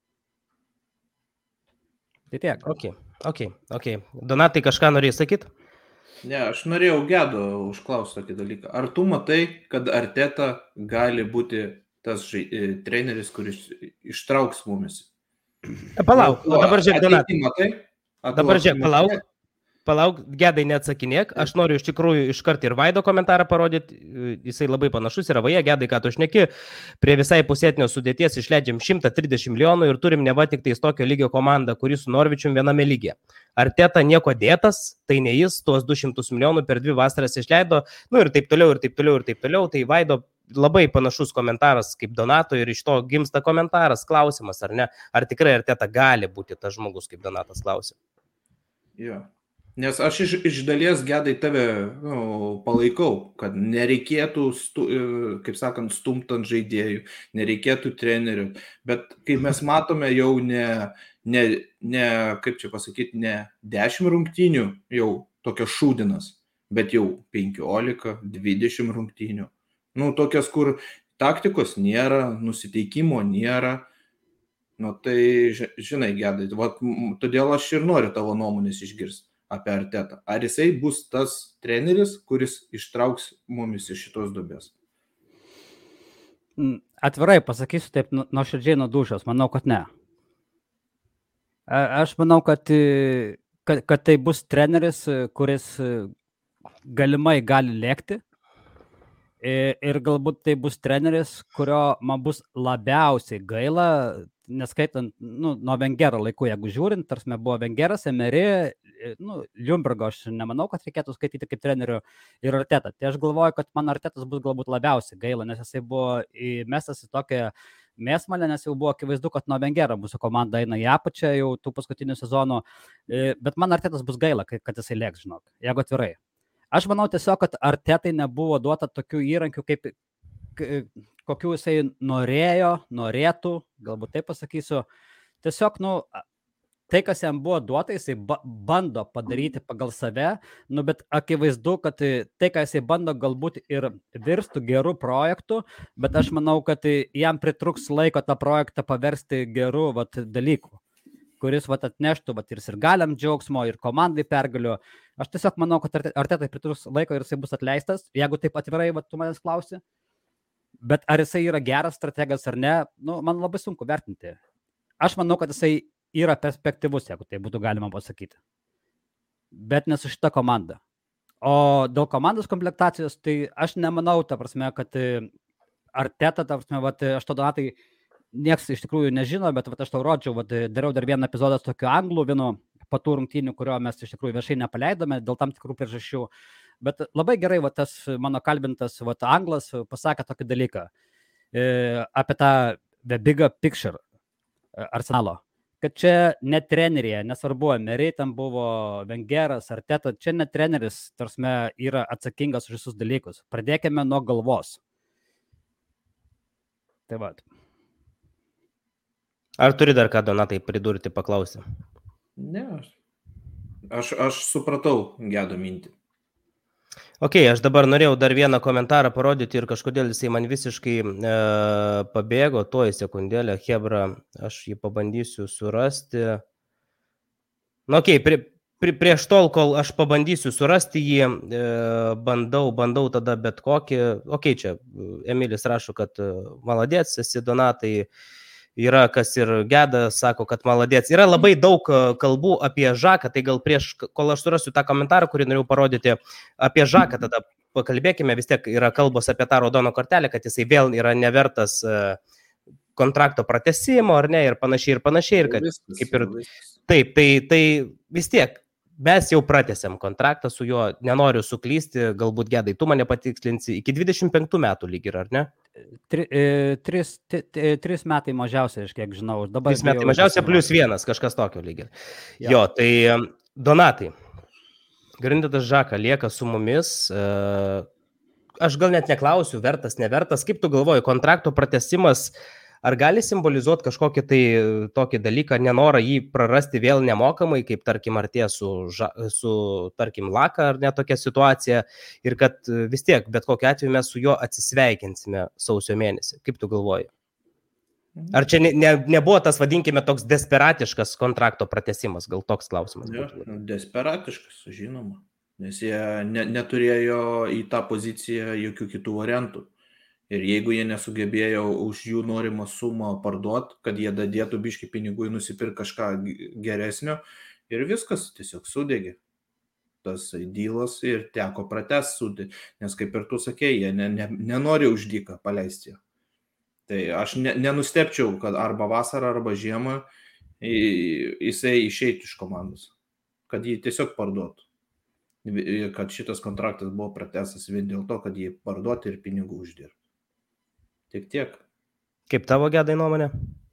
Tai tiek. Ok, ok, ok. Donatai, kažką norėjai sakyti? Ne, aš norėjau Gedo užklausti tokį dalyką. Ar tu matai, kad Arteta gali būti tas žai, treneris, kuris ištrauks mumis? Palauk, o dabar žiūrėk, Donatai. Matai? Dabar žiūrėk, palauk. Palauk, Gedai neatsakinėk, aš noriu iš tikrųjų iškart ir Vaido komentarą parodyti, jisai labai panašus yra, vaje, Gedai, ką tu šneki, prie visai pusėtinio sudėties išleidžiam šimtą trisdešimt milijonų ir turim neva tik tais tokio lygio komandą, kuri su Norvičium viename lygyje. Arteta nieko dėtas, tai ne jis, tuos du šimtus milijonų per dvi vasaras išleido, nu ir taip toliau, ir taip toliau, ir taip toliau, tai Vaido labai panašus komentaras kaip Donato ir iš to gimsta komentaras, klausimas, ar ne, ar tikrai Arteta gali būti tas žmogus, kaip Donatas klausė. Jo. Nes aš iš, iš dalies, Gedai, tave nu, palaikau, kad nereikėtų, stu, kaip sakant, stumt ant žaidėjų, nereikėtų trenerių, bet kaip mes matome jau ne, ne, ne kaip čia pasakyti, ne dešimt rungtynių jau tokios šūdinas, bet jau penkiolika, dvidešimt rungtynių. Nu, tokias, kur taktikos nėra, nusiteikimo nėra. Nu, tai, žinai, Gedai, va, todėl aš ir noriu tavo nuomonės išgirsti apie Artetą. Ar jisai bus tas treneris, kuris ištrauks mumis iš šitos duobės? Atvirai pasakysiu taip nuoširdžiai nuo dūšios, manau, kad ne. Aš manau, kad, kad, kad tai bus treneris, kuris galimai gali lėkti ir galbūt tai bus treneris, kurio man bus labiausiai gaila, neskaitant, nu, nuo Vengero laikų, jeigu žiūrint, tarsi buvo Vengeras, Emery, nu, Ljungbergo aš nemanau, kad reikėtų skaityti kaip trenerių ir Artetą. Tai aš galvoju, kad man Artetas bus galbūt labiausiai gaila, nes jisai buvo įmestas į tokią mėsmalę, nes jau buvo akivaizdu, kad nuo Vengero mūsų komanda eina į apačią jau tų paskutinių sezonų, bet man Artetas bus gaila, kad jisai lėks, žinok, jeigu atvirai. Aš manau tiesiog, kad Artetai nebuvo duota tokių įrankių, kaip kokių jisai norėjo, norėtų, galbūt taip pasakysiu. Tiesiog, nu, tai, kas jam buvo duota, jisai bando padaryti pagal save, nu, bet akivaizdu, kad tai, ką jisai bando, galbūt ir virstų gerų projektų, bet aš manau, kad jam pritruks laiko tą projektą paversti gerų vat, dalykų, kuris vat, atneštų vat, ir sirgaliam džiaugsmo, ir komandai pergalių. Aš tiesiog manau, kad Artetai pritruks laiko ir jisai bus atleistas, jeigu taip atvirai vat, tu manęs klausi. Bet ar jisai yra geras strategas ar ne, nu, man labai sunku vertinti. Aš manau, kad jisai yra perspektyvus, jeigu tai būtų galima pasakyti. Bet ne su šita komanda. O dėl komandos komplektacijos, tai aš nemanau, ta prasme, kad Arteta, ta prasme, vat, aš to Donatai nieks iš tikrųjų nežino, bet vat, aš tau rodžiau, vat, dariau dar vieną epizodą su tokiu anglų, vienu patų rungtynių, kurio mes iš tikrųjų viešai nepaleidome dėl tam tikrų priežasčių. Bet labai gerai, va, tas mano kalbintas va, anglas pasakė tokį dalyką e, apie tą the bigger picture Arsenalo. Kad čia ne trenerija, nesvarbu, Emery tam buvo, Wengeras, Arteta, čia ne treneris, tarsi yra atsakingas už visus dalykus. Pradėkime nuo galvos. Tai va. Ar turi dar ką, Donatai, pridurti, paklausyti? Ne, aš, aš supratau Gedo mintį. Ok, aš dabar norėjau dar vieną komentarą parodyti ir kažkodėl jisai man visiškai e, pabėgo, tuoj sekundėlę, Hebra, aš jį pabandysiu surasti. Nu, ok, pri, pri, prieš tol, kol aš pabandysiu surasti jį, e, bandau, bandau tada bet kokį, ok, čia Emilis rašo, kad maladėts, esi Donatai, yra kas ir Geda, sako, kad maladėts. Yra labai daug kalbų apie Žaką, tai gal prieš, kol aš surasiu tą komentarą, kurį norėjau parodyti apie Žaką, tada pakalbėkime, vis tiek yra kalbos apie tą raudoną kortelę, kad jisai vėl yra nevertas kontrakto pratęsimo, ar ne, ir panašiai, ir panašiai, ir kad kaip ir taip, tai, tai vis tiek mes jau pratęsėm kontraktą su juo, nenoriu suklysti, galbūt Gedai, tu mane patikslinsi, iki dvidešimt penktų metų lyg ir, ar ne? Tri, e, tris, t, t, tris metai mažiausiai, aš kiek žinau. Dabar tris metai mažiausiai plus vienas, kažkas tokio lyg ir. Jo, tai Donatai, Grindatas Žaka lieka su mumis, e, aš gal net neklausiu, vertas, nevertas, kaip tu galvoji, kontrakto pratęsimas, ar gali simbolizuoti kažkokį tai tokį dalyką, nenorą jį prarasti vėl nemokamai, kaip tarkim artėja su, su tarkim Laka ar ne tokia situacija ir kad vis tiek, bet kokiu atveju mes su juo atsisveikinsime sausio mėnesį. Kaip tu galvoji? Ar čia ne, ne, nebuvo tas, vadinkime, toks desperatiškas kontrakto pratęsimas, gal toks klausimas? Ja, desperatiškas, žinoma, nes jie ne, neturėjo į tą poziciją jokių kitų variantų. Ir jeigu jie nesugebėjo už jų norimą sumą parduoti, kad jie dadėtų biškį pinigų ir nusipirk kažką geresnio, ir viskas tiesiog sudegė. Tas dylas ir teko pratęs sudėti, nes kaip ir tu sakei, jie ne, ne, nenori už dyką paleisti. Tai aš ne, nenustepčiau, kad arba vasarą, arba žiemą jisai išeitų iš komandos, kad jį tiesiog parduotų. Kad šitas kontraktas buvo pratęsas vien dėl to, kad jį parduoti ir pinigų uždirbti. Tik tiek. Kaip tavo Gedai nuomonė?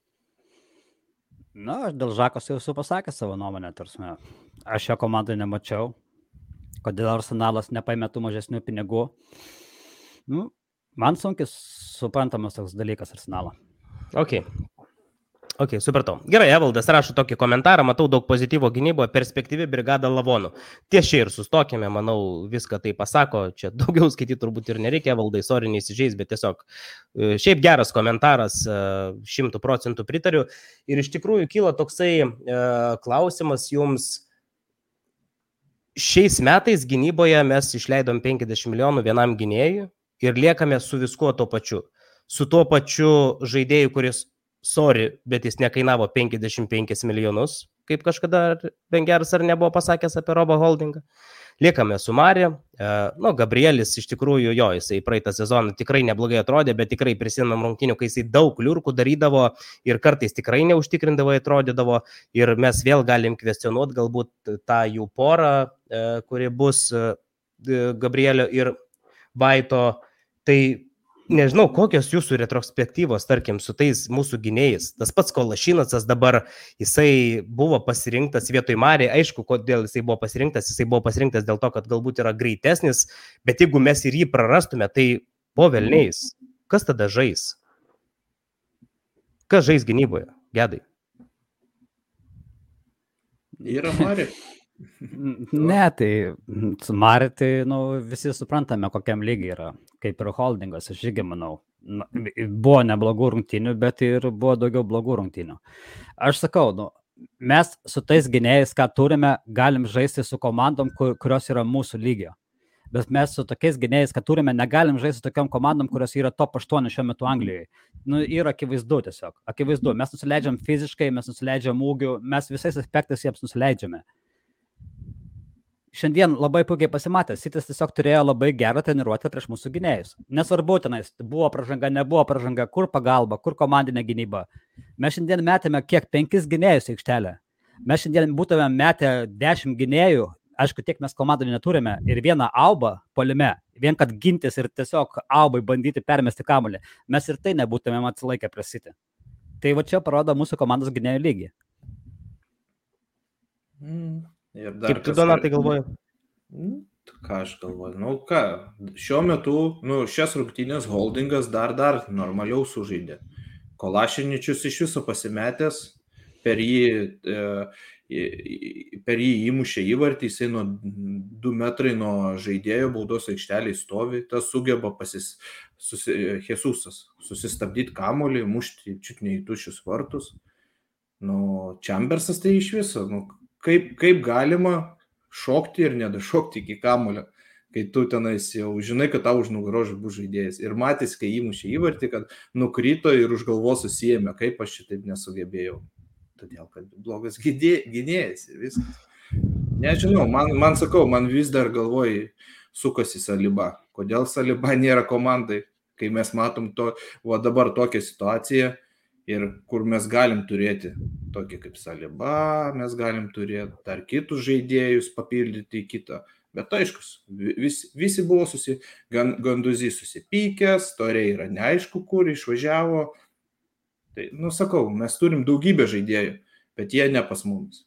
Na, aš dėl Žakos jau esu pasakęs savo nuomonę, tarsi. Aš jo komandai nemačiau, kodėl Arsenalas nepaėmė tų mažesnių pinigų. Nu, man sunkiai suprantamas toks dalykas Arsenalo. Ok. Ok, supratau. Gerai, Evaldas rašo tokį komentarą, matau daug pozityvo gynyboje, perspektyvi brigada lavonų. Ties čia ir sustokime, manau, viską tai pasako, čia daugiau skaityti turbūt ir nereikia, Evaldai, sorry, neįsižeis, bet tiesiog šiaip geras komentaras, šimtų procentų pritariu. Ir iš tikrųjų kyla toksai e, klausimas jums, šiais metais gynyboje mes išleidom penkiasdešimt milijonų vienam gynėjui ir liekame su viskuo tuo pačiu. Su tuo pačiu žaidėju, kuris sorry, bet jis nekainavo penkiasdešimt penkis milijonus, kaip kažkada Wengeras ar nebuvo pasakęs apie Robą Holdingą. Liekame su Marija. Nu, Gabrielis iš tikrųjų, jo, jisai praeitą sezoną tikrai neblogai atrodė, bet tikrai prisimam rungtynių, kai jisai daug liurkų darydavo ir kartais tikrai neužtikrindavo atrodydavo ir mes vėl galim kvestionuoti galbūt tą jų porą, kuri bus Gabrielio ir Vaito. Tai nežinau, kokios jūsų retrospektyvos, tarkim, su tais mūsų gynėjais. Tas pats Kolašinacas dabar, jisai buvo pasirinktas vietoj Marį. Aišku, kodėl jisai buvo pasirinktas. Jisai buvo pasirinktas dėl to, kad galbūt yra greitesnis, bet jeigu mes ir jį prarastume, tai po velniais. Kas tada žais? Kas žais gynyboje, Gedai? Yra Marį. Ne, tai su Marį, tai nu, visi suprantame, kokiam lygiai yra, kaip ir Holdingas, aš irgi manau. Na, buvo neblogų rungtynių, bet ir buvo daugiau blogų rungtynių. Aš sakau, nu, mes su tais gynėjais, ką turime, galim žaisti su komandom, kur, kurios yra mūsų lygio. Bet mes su tokiais gynėjais, ką turime, negalim žaisti su tokiam komandom, kurios yra top aštuoni šiuo metu Anglijoje. Nu, yra akivaizdu tiesiog. Akivaizdu, mes nusileidžiam fiziškai, mes nusileidžiam ūgiu, mes visais aspektais jiems nusileidžiame. Šiandien labai puikiai pasimatė, City's tiesiog turėjo labai gerą treniruotę prieš mūsų gynėjus. Nesvarbu tenais, buvo pražanga, nebuvo pražanga, kur pagalba, kur komandinė gynyba. Mes šiandien metėme kiek penkis gynėjus į aikštelę. Mes šiandien būtume metę dešimt gynėjų, aišku, tiek mes komandai neturime ir vieną Aubą puolime, vien kad gintis ir tiesiog Aubai bandyti permesti kamuolį, mes ir tai nebūtumėm atsilaikę prieš City. Tai va čia parodo mūsų komandos gynėjų lygį. Mm. Kaip tu, Donatai, galvoji? Mm. Ką aš galvoju? Nu ką, šiuo metu, nu, šias rungtynės Holdingas dar dar normaliau sužaidė. Kolašiničius iš viso pasimetęs, per jį, e, per jį įmušė įvartį, jisai nuo du metrai nuo žaidėjo baudos aikšteliai stovi, tas sugeba pasis, susi, Jesusas susistabdyti kamuolį, mušti čiut ne į tuščius vartus. Nu, Chambersas tai iš viso, nu, kaip, kaip galima šokti ir nedašokti iki kamulio, kai tu tenais jau žinai, kad tau už nugaros bus žaidėjas. Ir matys, kai įmušė įvartį, kad nukrito ir už galvos susijėmė, kaip aš šitaip nesugebėjau. Todėl, kad blogas gynėjas ir viskas. Nežinau, man, man sakau, man vis dar galvoj sukasi Saliba. Kodėl Saliba nėra komandai, kai mes matom to, va dabar tokią situaciją, ir kur mes galim turėti tokį kaip Saliba, mes galim turėti dar kitus žaidėjus, papildyti į kitą. Bet aiškus, vis, visi buvo susi, gan, Ganduzy susipykęs, Torė yra neaišku, kur išvažiavo. Tai, nu sakau, mes turim daugybę žaidėjų, bet jie ne pas mumis.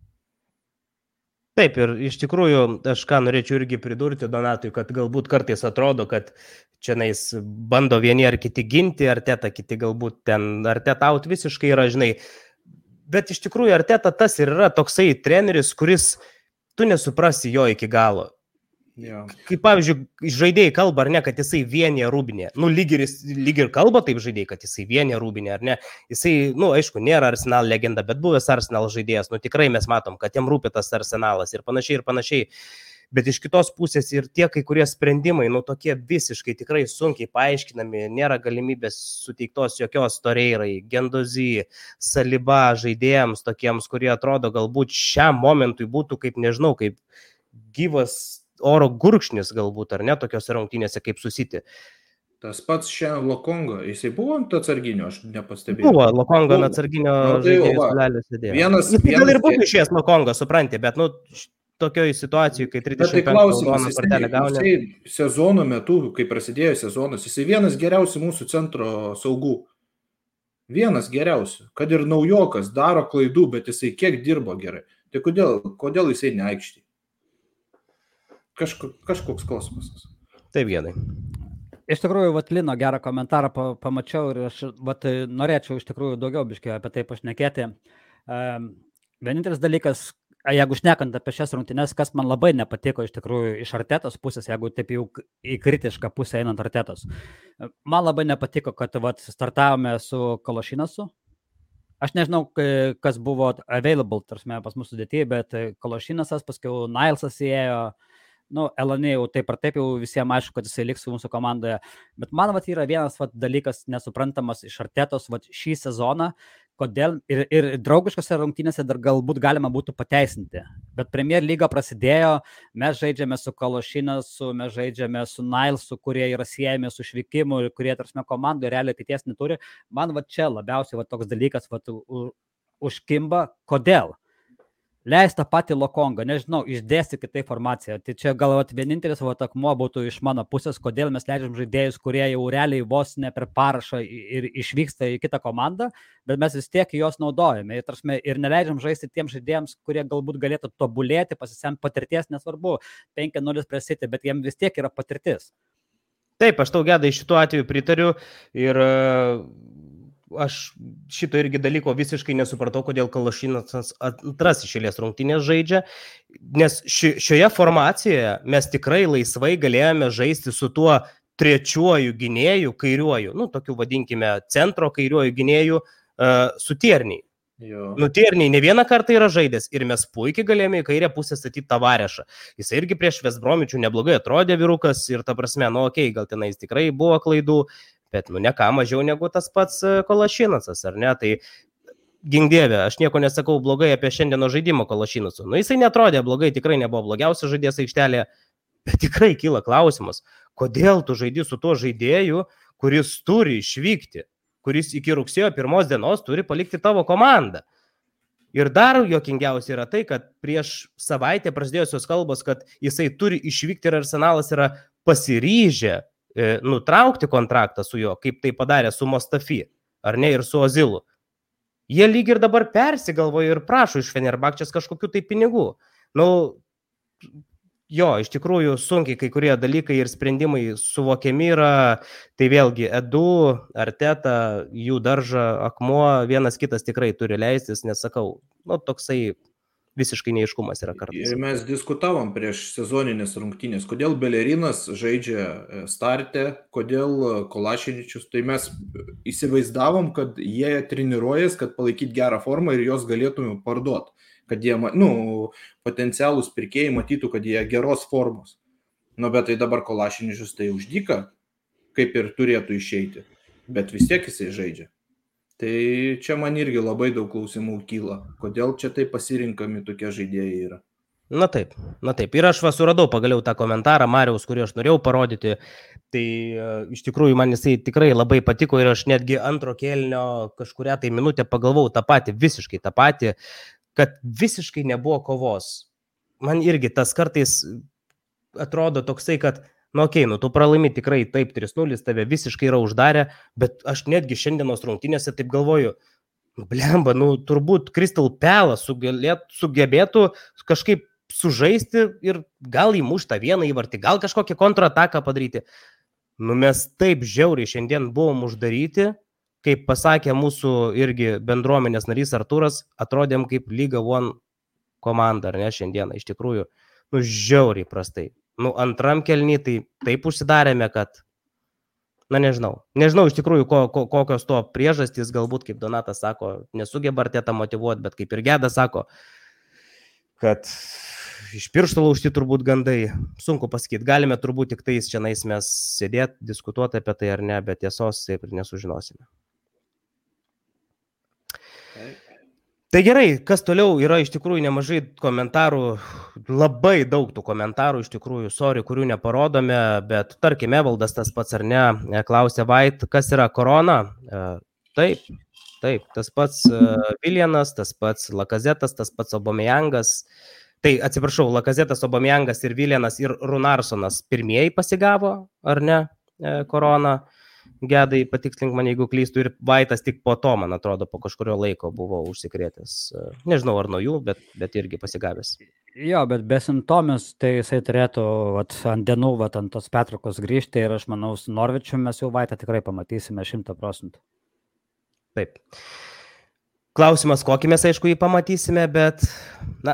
Taip, ir iš tikrųjų, aš ką norėčiau irgi pridurti Donatui, kad galbūt kartais atrodo, kad čia nais bando vieni ar kiti ginti, Arteta, kiti galbūt ten Arteta out visiškai yra, žinai. Bet iš tikrųjų Arteta tas ir yra toksai treneris, kuris tu nesuprasi jo iki galo. Ja. Kaip pavyzdžiui, žaidėjai kalba, ar ne, kad jisai vienė Rūbinė. Nu, lyg ir, lyg ir kalba taip žaidėjai, kad jisai vienė Rūbinė, ar ne. Jisai, nu, aišku, nėra Arsenal legenda, bet buvęs Arsenal žaidėjas. Nu, tikrai mes matom, kad jam rūpi tas Arsenalas ir panašiai ir panašiai. Bet iš kitos pusės ir tie kai kurie sprendimai, nu, tokie visiškai tikrai sunkiai paaiškinami, nėra galimybės suteiktos jokios Torreirai, Ganduzy, Saliba žaidėjams tokiems, kurie atrodo galbūt šiam momentui būtų kaip, nežinau, kaip gyvas oro gurkšnis galbūt, ar ne, tokios rungtynėse kaip su City. Tas pats šiandien Lokongo, jisai buvo ant atsarginio, aš nepastebėjau. Buvo, Lokongo ant atsarginio no, tai žaidėjus sėdėjo. Vienas, jis vienas, gal ir būtų išėjęs Lokongo, supranti, bet, nu, tokioje situacijoje, kai trisdešimt penktą raudoną kortelę gauna. Jisai sezono metu, kai prasidėjo sezonas, jisai vienas geriausių mūsų centro saugų. Vienas geriausių. Kad ir naujokas daro klaidų, bet jisai kiek dirbo gerai. Tai kodėl, kodėl jisai neaikštė? Kažko, kažkoks kosmosas. Taip, Gedai. Iš tikrųjų, vat Lino gerą komentarą pa, pamačiau ir aš vat, norėčiau iš tikrųjų daugiau biškiai apie tai pašnekėti. Um, vienintelis dalykas, jeigu šnekant apie šias rungtynes, kas man labai nepatiko iš tikrųjų iš Artetos pusės, jeigu taip jau į kritišką pusę einant Artetos. Man labai nepatiko, kad vat, startavome su Kološinasu. Aš nežinau, kas buvo available, tarsi pas mūsų sudėtyje, bet Kološinasas, paskiau Nilesas įėjo. Nu, Elonė jau taip ar taip jau visiems aišku, kad jisai liks mūsų komandoje. Bet man vat, yra vienas vat, dalykas nesuprantamas iš Artetos vat, šį sezoną, kodėl ir, ir draugiškose rungtynėse dar galbūt galima būtų pateisinti. Bet Premier lyga prasidėjo, mes žaidžiame su Kološinasu, mes žaidžiame su Nilesu, kurie yra siejami su išvykimu ir kurie, tarsi, komandoje realiai ateities neturi. Man vat, čia labiausiai vat, toks dalykas vat, u, užkimba. Kodėl? Leis tą patį Lokongą, nežinau, išdėstykit tą informaciją. Tai čia gal vat, vienintelis vat, akmuo būtų iš mano pusės, kodėl mes leidžiam žaidėjus, kurie jau realiai vos ne per parašą ir išvyksta į kitą komandą, bet mes vis tiek juos naudojame. Ir, tarsi, ir neleidžiam žaisti tiems žaidėjams, kurie galbūt galėtų tobulėti, pasisemti patirties, nesvarbu, penki nulis prieš City, bet jiems vis tiek yra patirtis. Taip, aš tau, Gedai, šituo atveju pritariu ir aš šito irgi dalyko visiškai nesupratau, kodėl Kološinasas antras išėlės rungtynės žaidžia, nes ši, šioje formacijoje mes tikrai laisvai galėjome žaisti su tuo trečiuoju gynėju, kairiuoju, nu, tokiu vadinkime centro kairiuoju gynėju uh, su Tierniai. Jo. Nu, Tierniai ne vieną kartą yra žaidęs ir mes puikiai galėjome į kairę pusę statyti Tavarešą. Jis irgi prieš West Bromičių neblogai atrodė vyrukas ir ta prasme, nu, okei, okay, gal tenais tikrai buvo klaidų, bet, nu, ne ką mažiau negu tas pats Kološinasas, ar ne? Tai gink dieve, aš nieko nesakau blogai apie šiandieno žaidimo Kološinasu. Nu, jisai netrodė blogai, tikrai nebuvo blogiausias žaidėjas aikštelėje, bet tikrai kyla klausimas, kodėl tu žaidi su tuo žaidėju, kuris turi išvykti, kuris iki rugsėjo pirmos dienos turi palikti tavo komandą. Ir dar juokingiausia yra tai, kad prieš savaitę prasidėjusios kalbos, kad jisai turi išvykti ir Arsenalas yra pasiryžę e, nutraukti kontraktą su juo, kaip tai padarė su Mustafi, ar ne, ir su Ozilu. Jie lyg ir dabar persigalvoja ir prašo iš Fenerbahčės kažkokių tai pinigų. Nu, jo, iš tikrųjų sunkiai kai kurie dalykai ir sprendimai suvokiami yra, tai vėlgi Edu, Arteta, jų daržą, akmuo, vienas kitas tikrai turi leistis, nesakau, nu, toksai visiškai neiškumas yra kartais. Ir mes diskutavom prieš sezoninės rungtynės, kodėl Belerinas žaidžia starte, kodėl Kolašiničius, tai mes įsivaizdavom, kad jie treniruojas, kad palaikyti gerą formą ir jos galėtume parduoti. Kad jie, nu, potencialūs pirkėjai matytų, kad jie geros formos. Nu, bet tai dabar Kolašiničius tai uždyka, kaip ir turėtų išeiti, bet vis tiek jisai žaidžia. Tai čia man irgi labai daug klausimų kyla, kodėl čia tai pasirinkami tokie žaidėjai yra. Na taip, na taip. Ir aš va suradau pagaliau tą komentarą Mariaus, kurį aš norėjau parodyti. Tai uh, iš tikrųjų man jisai tikrai labai patiko ir aš netgi antro kėlinio kažkurią tai minutę pagalvau tą patį, visiškai tą patį, kad visiškai nebuvo kovos. Man irgi tas kartais atrodo toksai, kad, nu okei, okay, nu tu pralaimi tikrai taip trys nulis, tave visiškai yra uždarę, bet aš netgi šiandienos rungtynėse taip galvoju, nu blemba, nu turbūt Crystal Palace sugebėtų kažkaip sužaisti ir gal įmuštą vieną įvartį, gal kažkokią kontrataką padaryti. Nu mes taip žiauriai šiandien buvom uždaryti, kaip pasakė mūsų irgi bendruomenės narys Artūras, atrodėm kaip Liga One komanda, ar ne, šiandieną, iš tikrųjų, nu, žiauriai prastai. Nu, antram kelny tai taip užsidarėme, kad, na, nežinau, nežinau iš tikrųjų, ko, ko, kokios to priežastys, galbūt, kaip Donatas sako, nesugeba Artetą motivuoti, bet kaip ir Geda sako, kad iš piršto laužti turbūt gandai, sunku pasakyti, galime turbūt tik tais čia nais mes sėdėti, diskutuoti apie tai ar ne, bet tiesos taip ir nesužinosime. Tai gerai, kas toliau, yra iš tikrųjų nemažai komentarų, labai daug tų komentarų iš tikrųjų, sorry, kurių neparodome, bet tarkime, Evaldas tas pats ar ne, klausė Vait, kas yra korona? Taip, taip, tas pats Viljanas, tas pats Lakazetas, tas pats Aubameyangas, tai atsiprašau, Lakazetas, Aubameyangas ir Viljanas ir Runarsonas pirmieji pasigavo, ar ne, koroną. Gedai, patikslink man, jeigu klystų, ir Vaitas tik po to, man atrodo, po kažkurio laiko buvo užsikrėtęs. Nežinau, ar nuo jų, bet, bet irgi pasigavęs. Jo, bet besimptomis, tai jisai turėtų vat, ant dienų, vat, ant tos pertraukos grįžti ir aš manau, su Norvičiu mes jau Vaitą tikrai pamatysime šimtą procentų. Taip. Klausimas, kokį mes, aišku, jį pamatysime, bet, na,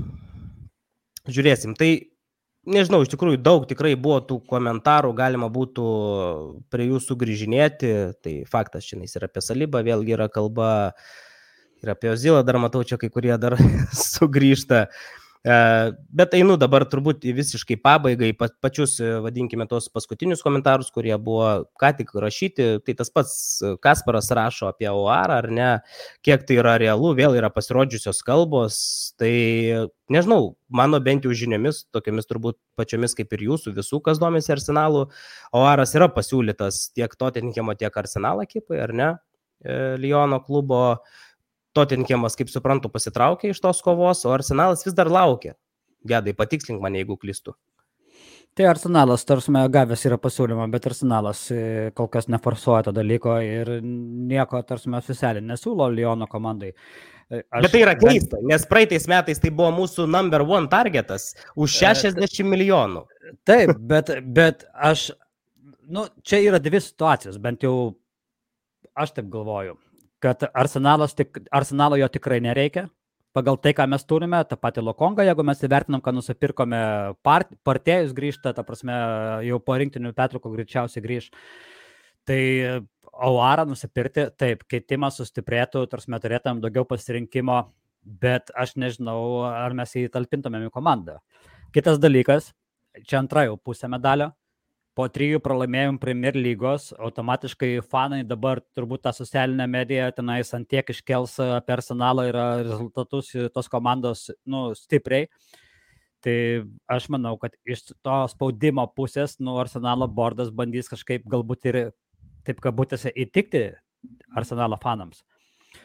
žiūrėsim. Tai nežinau, iš tikrųjų daug tikrai buvo tų komentarų, galima būtų prie jų sugrįžinėti, tai faktas šiandien ir apie Salibą vėlgi yra kalba, ir apie Ozilą dar matau čia kai kurie dar sugrįžta, bet einu dabar turbūt visiškai pabaigai, pačius, vadinkime, tos paskutinius komentarus, kurie buvo ką tik rašyti, tai tas pats Kasparas rašo apie Oarą, ar ne, kiek tai yra realu, vėl yra pasirodžiusios kalbos, tai nežinau, mano bent jau žiniomis, tokiamis turbūt pačiomis kaip ir jūsų visų, kas domisi Arsenalu, Oaras yra pasiūlytas tiek Tottenhamo, tiek Arsenalo ekipai, ar ne, Lyono klubo. Tottenhamas, kaip suprantu, pasitraukė iš tos kovos, o Arsenalas vis dar laukia. Gedai, patikslink mane, jeigu klystu. Tai Arsenalas, tarsi gavęs yra pasiūlymą, bet Arsenalas kol kas neforsuoja to dalyko ir nieko, tarsi oficialiai nesiūlo Lyono komandai. Aš, bet tai yra keista, nes praeitais metais tai buvo mūsų number one targetas už šešiasdešimt milijonų. Taip, bet, bet aš, nu, čia yra dvi situacijos, bent jau aš taip galvoju, kad Arsenalas tik, Arsenalo jo tikrai nereikia. Pagal tai, ką mes turime, tą patį Lokongą, jeigu mes įvertinam, kad nusipirkome part, partėjus grįžta, ta prasme, jau po rinktinių pertraukų greičiausiai grįž. Tai Oarą nusipirkti, taip, keitimas sustiprėtų, tarsi mes turėtum daugiau pasirinkimo, bet aš nežinau, ar mes jį talpintumėm į komandą. Kitas dalykas, čia antra jau pusė medalio. Po trijų pralaimėjimų Premier lygos, automatiškai fanai dabar turbūt tą socialinę mediją tenais ant tiek iškels apie Arsenalo ir rezultatus tos komandos, nu, stipriai. Tai aš manau, kad iš to spaudimo pusės, nu, Arsenalo bordas bandys kažkaip galbūt ir taip kabutėse įtikti Arsenalo fanams.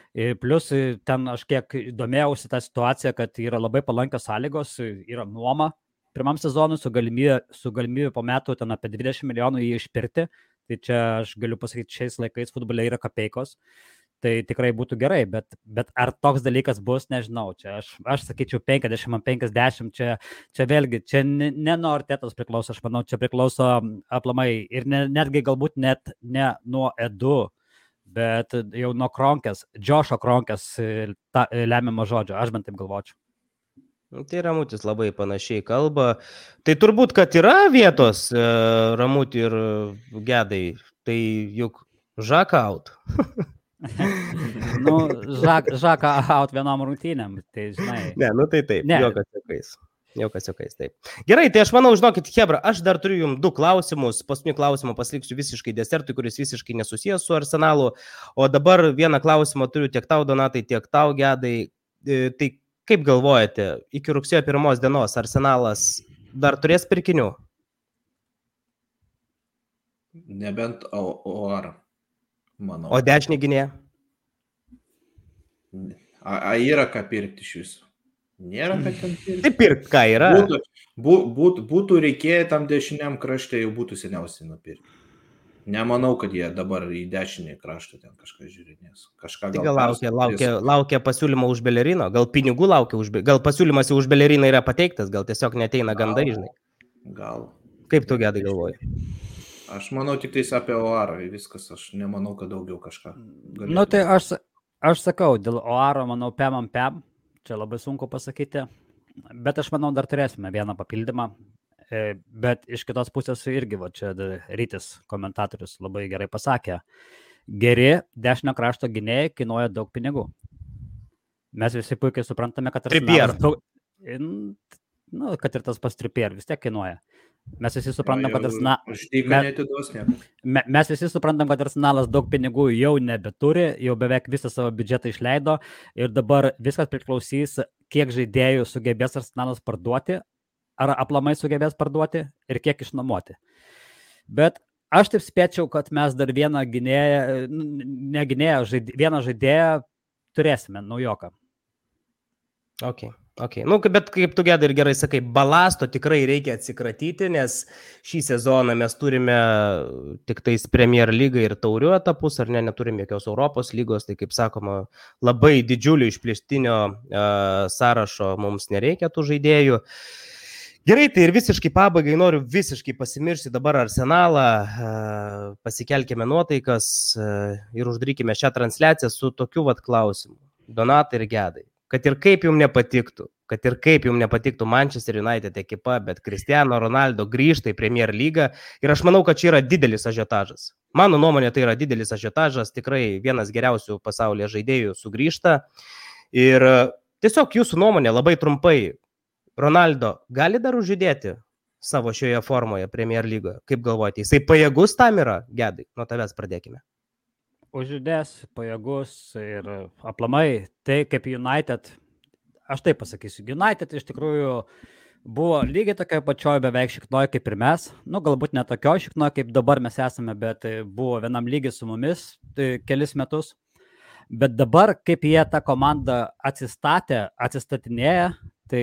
Ir plus ten aš kiek domėjausi tą situaciją, kad yra labai palankios sąlygos, yra nuoma pirmam sezonui su galimybė, su galimybė po metų ten apie dvidešimt milijonų jį išpirkti. Tai čia aš galiu pasakyti, šiais laikais futbole yra kapeikos. Tai tikrai būtų gerai, bet, bet ar toks dalykas bus, nežinau. Čia aš, aš sakyčiau penkiasdešimt ant penkiasdešimt, čia, čia vėlgi, čia ne, ne nuo Artetos priklauso, aš manau, čia priklauso aplamai ir ne, netgi galbūt net ne nuo Edu, bet jau nuo Kronkės, Džošo Kronkės ta, lemiamo žodžio, aš bent taip galvočiau. Tai Ramutis labai panašiai kalba. Tai turbūt, kad yra vietos Ramutį ir Gedai, tai juk žaka out. nu, žak, žaka out vienam rungtynėm, tai žinai. Ne, nu tai taip, ne. Jokas jokais. Jokas jokais, taip. Gerai, tai aš manau, žinokit, Hebra, aš dar turiu jums du klausimus. Paskutinį klausimą pasiliksiu visiškai desertui, kuris visiškai nesusijęs su Arsenalu. O dabar vieną klausimą turiu tiek tau, Donatai, tiek tau, Gedai. Tai kaip galvojate, iki rugsėjo pirmos dienos Arsenalas dar turės pirkinių? Nebent O A R, manau. O dešinį gynėją? A, a yra ką pirkti iš viso? Nėra ką ten pirkti. Tai pirkt ką yra? Būtų, bū, būt, būtų reikėję tam dešiniam krašte, jau būtų seniausiai nupirkti. Nemanau, kad jie dabar į dešinį kraštą ten kažką žiūrinės. Kažką gal, gal laukia, laukia, laukia pasiūlymo už Belerino, gal pinigų laukia už Belerino, gal pasiūlymas už Beleriną yra pateiktas, gal tiesiog neteina gandai, žinai. Gal. Kaip tu, Gedai, galvoji? Aš manau tik tais apie O A R, viskas, aš nemanau, kad daugiau kažką galėtų. Nu tai aš, aš sakau, dėl O A R, manau, pem ant pem, čia labai sunku pasakyti, bet aš manau, dar turėsime vieną papildymą. Bet iš kitos pusės irgi, va, čia Rytis komentatorius labai gerai pasakė, geri dešinio krašto gynėjai kainuoja daug pinigų. Mes visi puikiai suprantame, kad, daug, nu, kad ir tas pas Trippier vis tiek kainuoja. Mes visi suprantam, kad Arsenalas me, mes visi suprantam, kad Arsenalas daug pinigų jau nebeturi, jau beveik visą savo biudžetą išleido ir dabar viskas priklausys, kiek žaidėjų sugebės Arsenalas parduoti, ar aplamai sugebės parduoti ir kiek išnuomoti. Bet aš taip spėčiau, kad mes dar vieną gynėją, ne gynėją, žaidė, vieną žaidėją turėsime, naujoką. Ok, ok. Nu, bet kaip tu, Gedai, ir gerai sakai, balasto tikrai reikia atsikratyti, nes šį sezoną mes turime tik tais Premier lygą ir taurių etapus, ar ne, neturime jokios Europos lygos, tai kaip sakoma, labai didžiulio išplėstinio uh, sąrašo mums nereikia tų žaidėjų. Gerai, tai ir visiškai pabaigai noriu visiškai pasimiršti dabar Arsenalą, pasikelkime nuotaikas ir uždarykime šią transliaciją su tokiu vat klausimu. Donatai ir Gedai, kad ir kaip jums nepatiktų, kad ir kaip jums nepatiktų Manchester United ekipa, bet Cristiano Ronaldo grįžta į Premier lygą ir aš manau, kad čia yra didelis ažiotažas. Mano nuomonė, tai yra didelis ažiotažas, tikrai vienas geriausių pasaulyje žaidėjų sugrįžta ir tiesiog jūsų nuomonė labai trumpai. Ronaldo gali dar užjudėti savo šioje formoje Premier lygoje? Kaip galvojate, jisai pajėgus tam yra, Gedai? Nuo tavęs pradėkime. Užjudės, pajėgus ir aplamai tai kaip United, aš taip pasakysiu, United iš tikrųjų buvo lygiai tokia pačioje beveik šiknoje kaip ir mes, nu galbūt ne tokioje šiknoje kaip dabar mes esame, bet buvo vienam lygiai su mumis tai kelis metus. Bet dabar, kaip jie tą komandą atsistatė, atsistatinėja, tai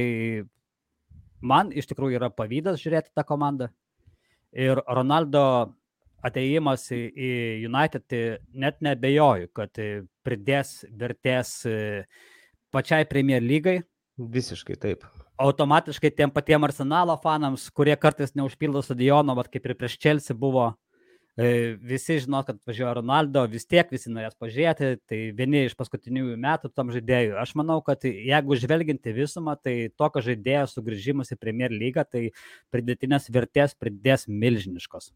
man iš tikrųjų yra pavydas žiūrėti tą komandą. Ir Ronaldo atėjimas į, į United, tai net nebejoju, kad pridės vertės pačiai Premier lygai. Visiškai taip. Automatiškai tiem patiem Arsenalo fanams, kurie kartais neužpildo stadiono, bet kaip ir prieš Chelsea buvo, visi žino, kad važiuoja Ronaldo, vis tiek visi norės pažiūrėti, tai vieni iš paskutiniųjų metų tam žaidėjų. Aš manau, kad jeigu žvelginti visumą, tai tokio žaidėjo sugrįžimas į Premier lygą, tai pridėtinės vertės pridės milžiniškos.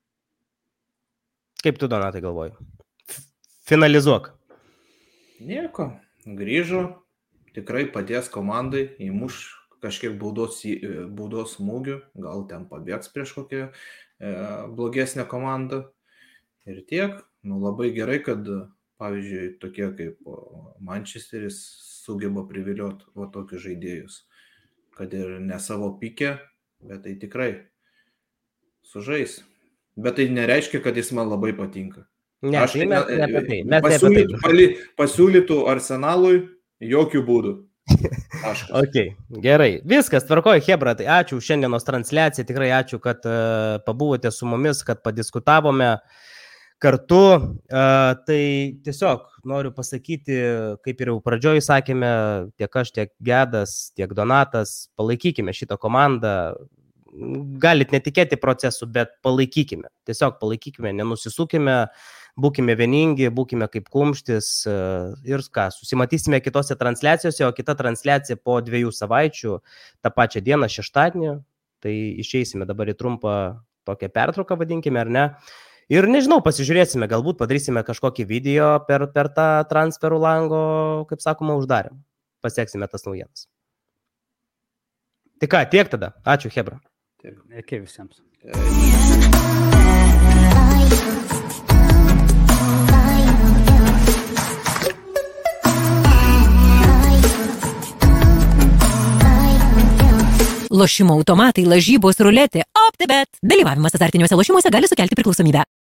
Kaip tu, Donatai, galvoji? Finalizuok. Nieko, grįžo, tikrai padės komandai, įmuš kažkiek baudos, baudos smūgių, gal ten pabėgs prieš kokią blogesnė komanda ir tiek. Nu, labai gerai, kad, pavyzdžiui, tokie kaip Manchesteris sugeba privilioti va tokius žaidėjus, kad ir ne savo pike, bet tai tikrai sužais. Bet tai nereiškia, kad jis man labai patinka. Ne, Aš tai mes ne apie tai. Mes pasiūlytų, pali, pasiūlytų Arsenalui jokių būdų. Ok, gerai. Viskas, tvarkoju, Hebra, tai ačiū už šiandienos transliaciją, tikrai ačiū, kad uh, pabuvote su mumis, kad padiskutavome kartu. Uh, tai tiesiog noriu pasakyti, kaip ir jau pradžioj sakėme, tiek aš, tiek Gedas, tiek Donatas, palaikykime šitą komandą. Galit netikėti procesų, bet palaikykime. Tiesiog palaikykime, nenusisukime, būkime vieningi, būkime kaip kumštis ir ką, susimatysime kitose transliacijose, o kita transliacija po dviejų savaičių, tą pačią dieną, šeštadienį, tai išeisime dabar į trumpą tokią pertrauką, vadinkime, ar ne. Ir nežinau, pasižiūrėsime, galbūt padarysime kažkokį video per, per tą transferų lango, kaip sakoma, uždarimą. Pasieksime tas naujienas. Tai ką, tiek tada. Ačiū, Hebra. Iki visiems. Lošimo automatai, lažybos, ruletė, OptiBet. Dalyvavimas azartiniuose lošimuose gali sukelti priklausomybę.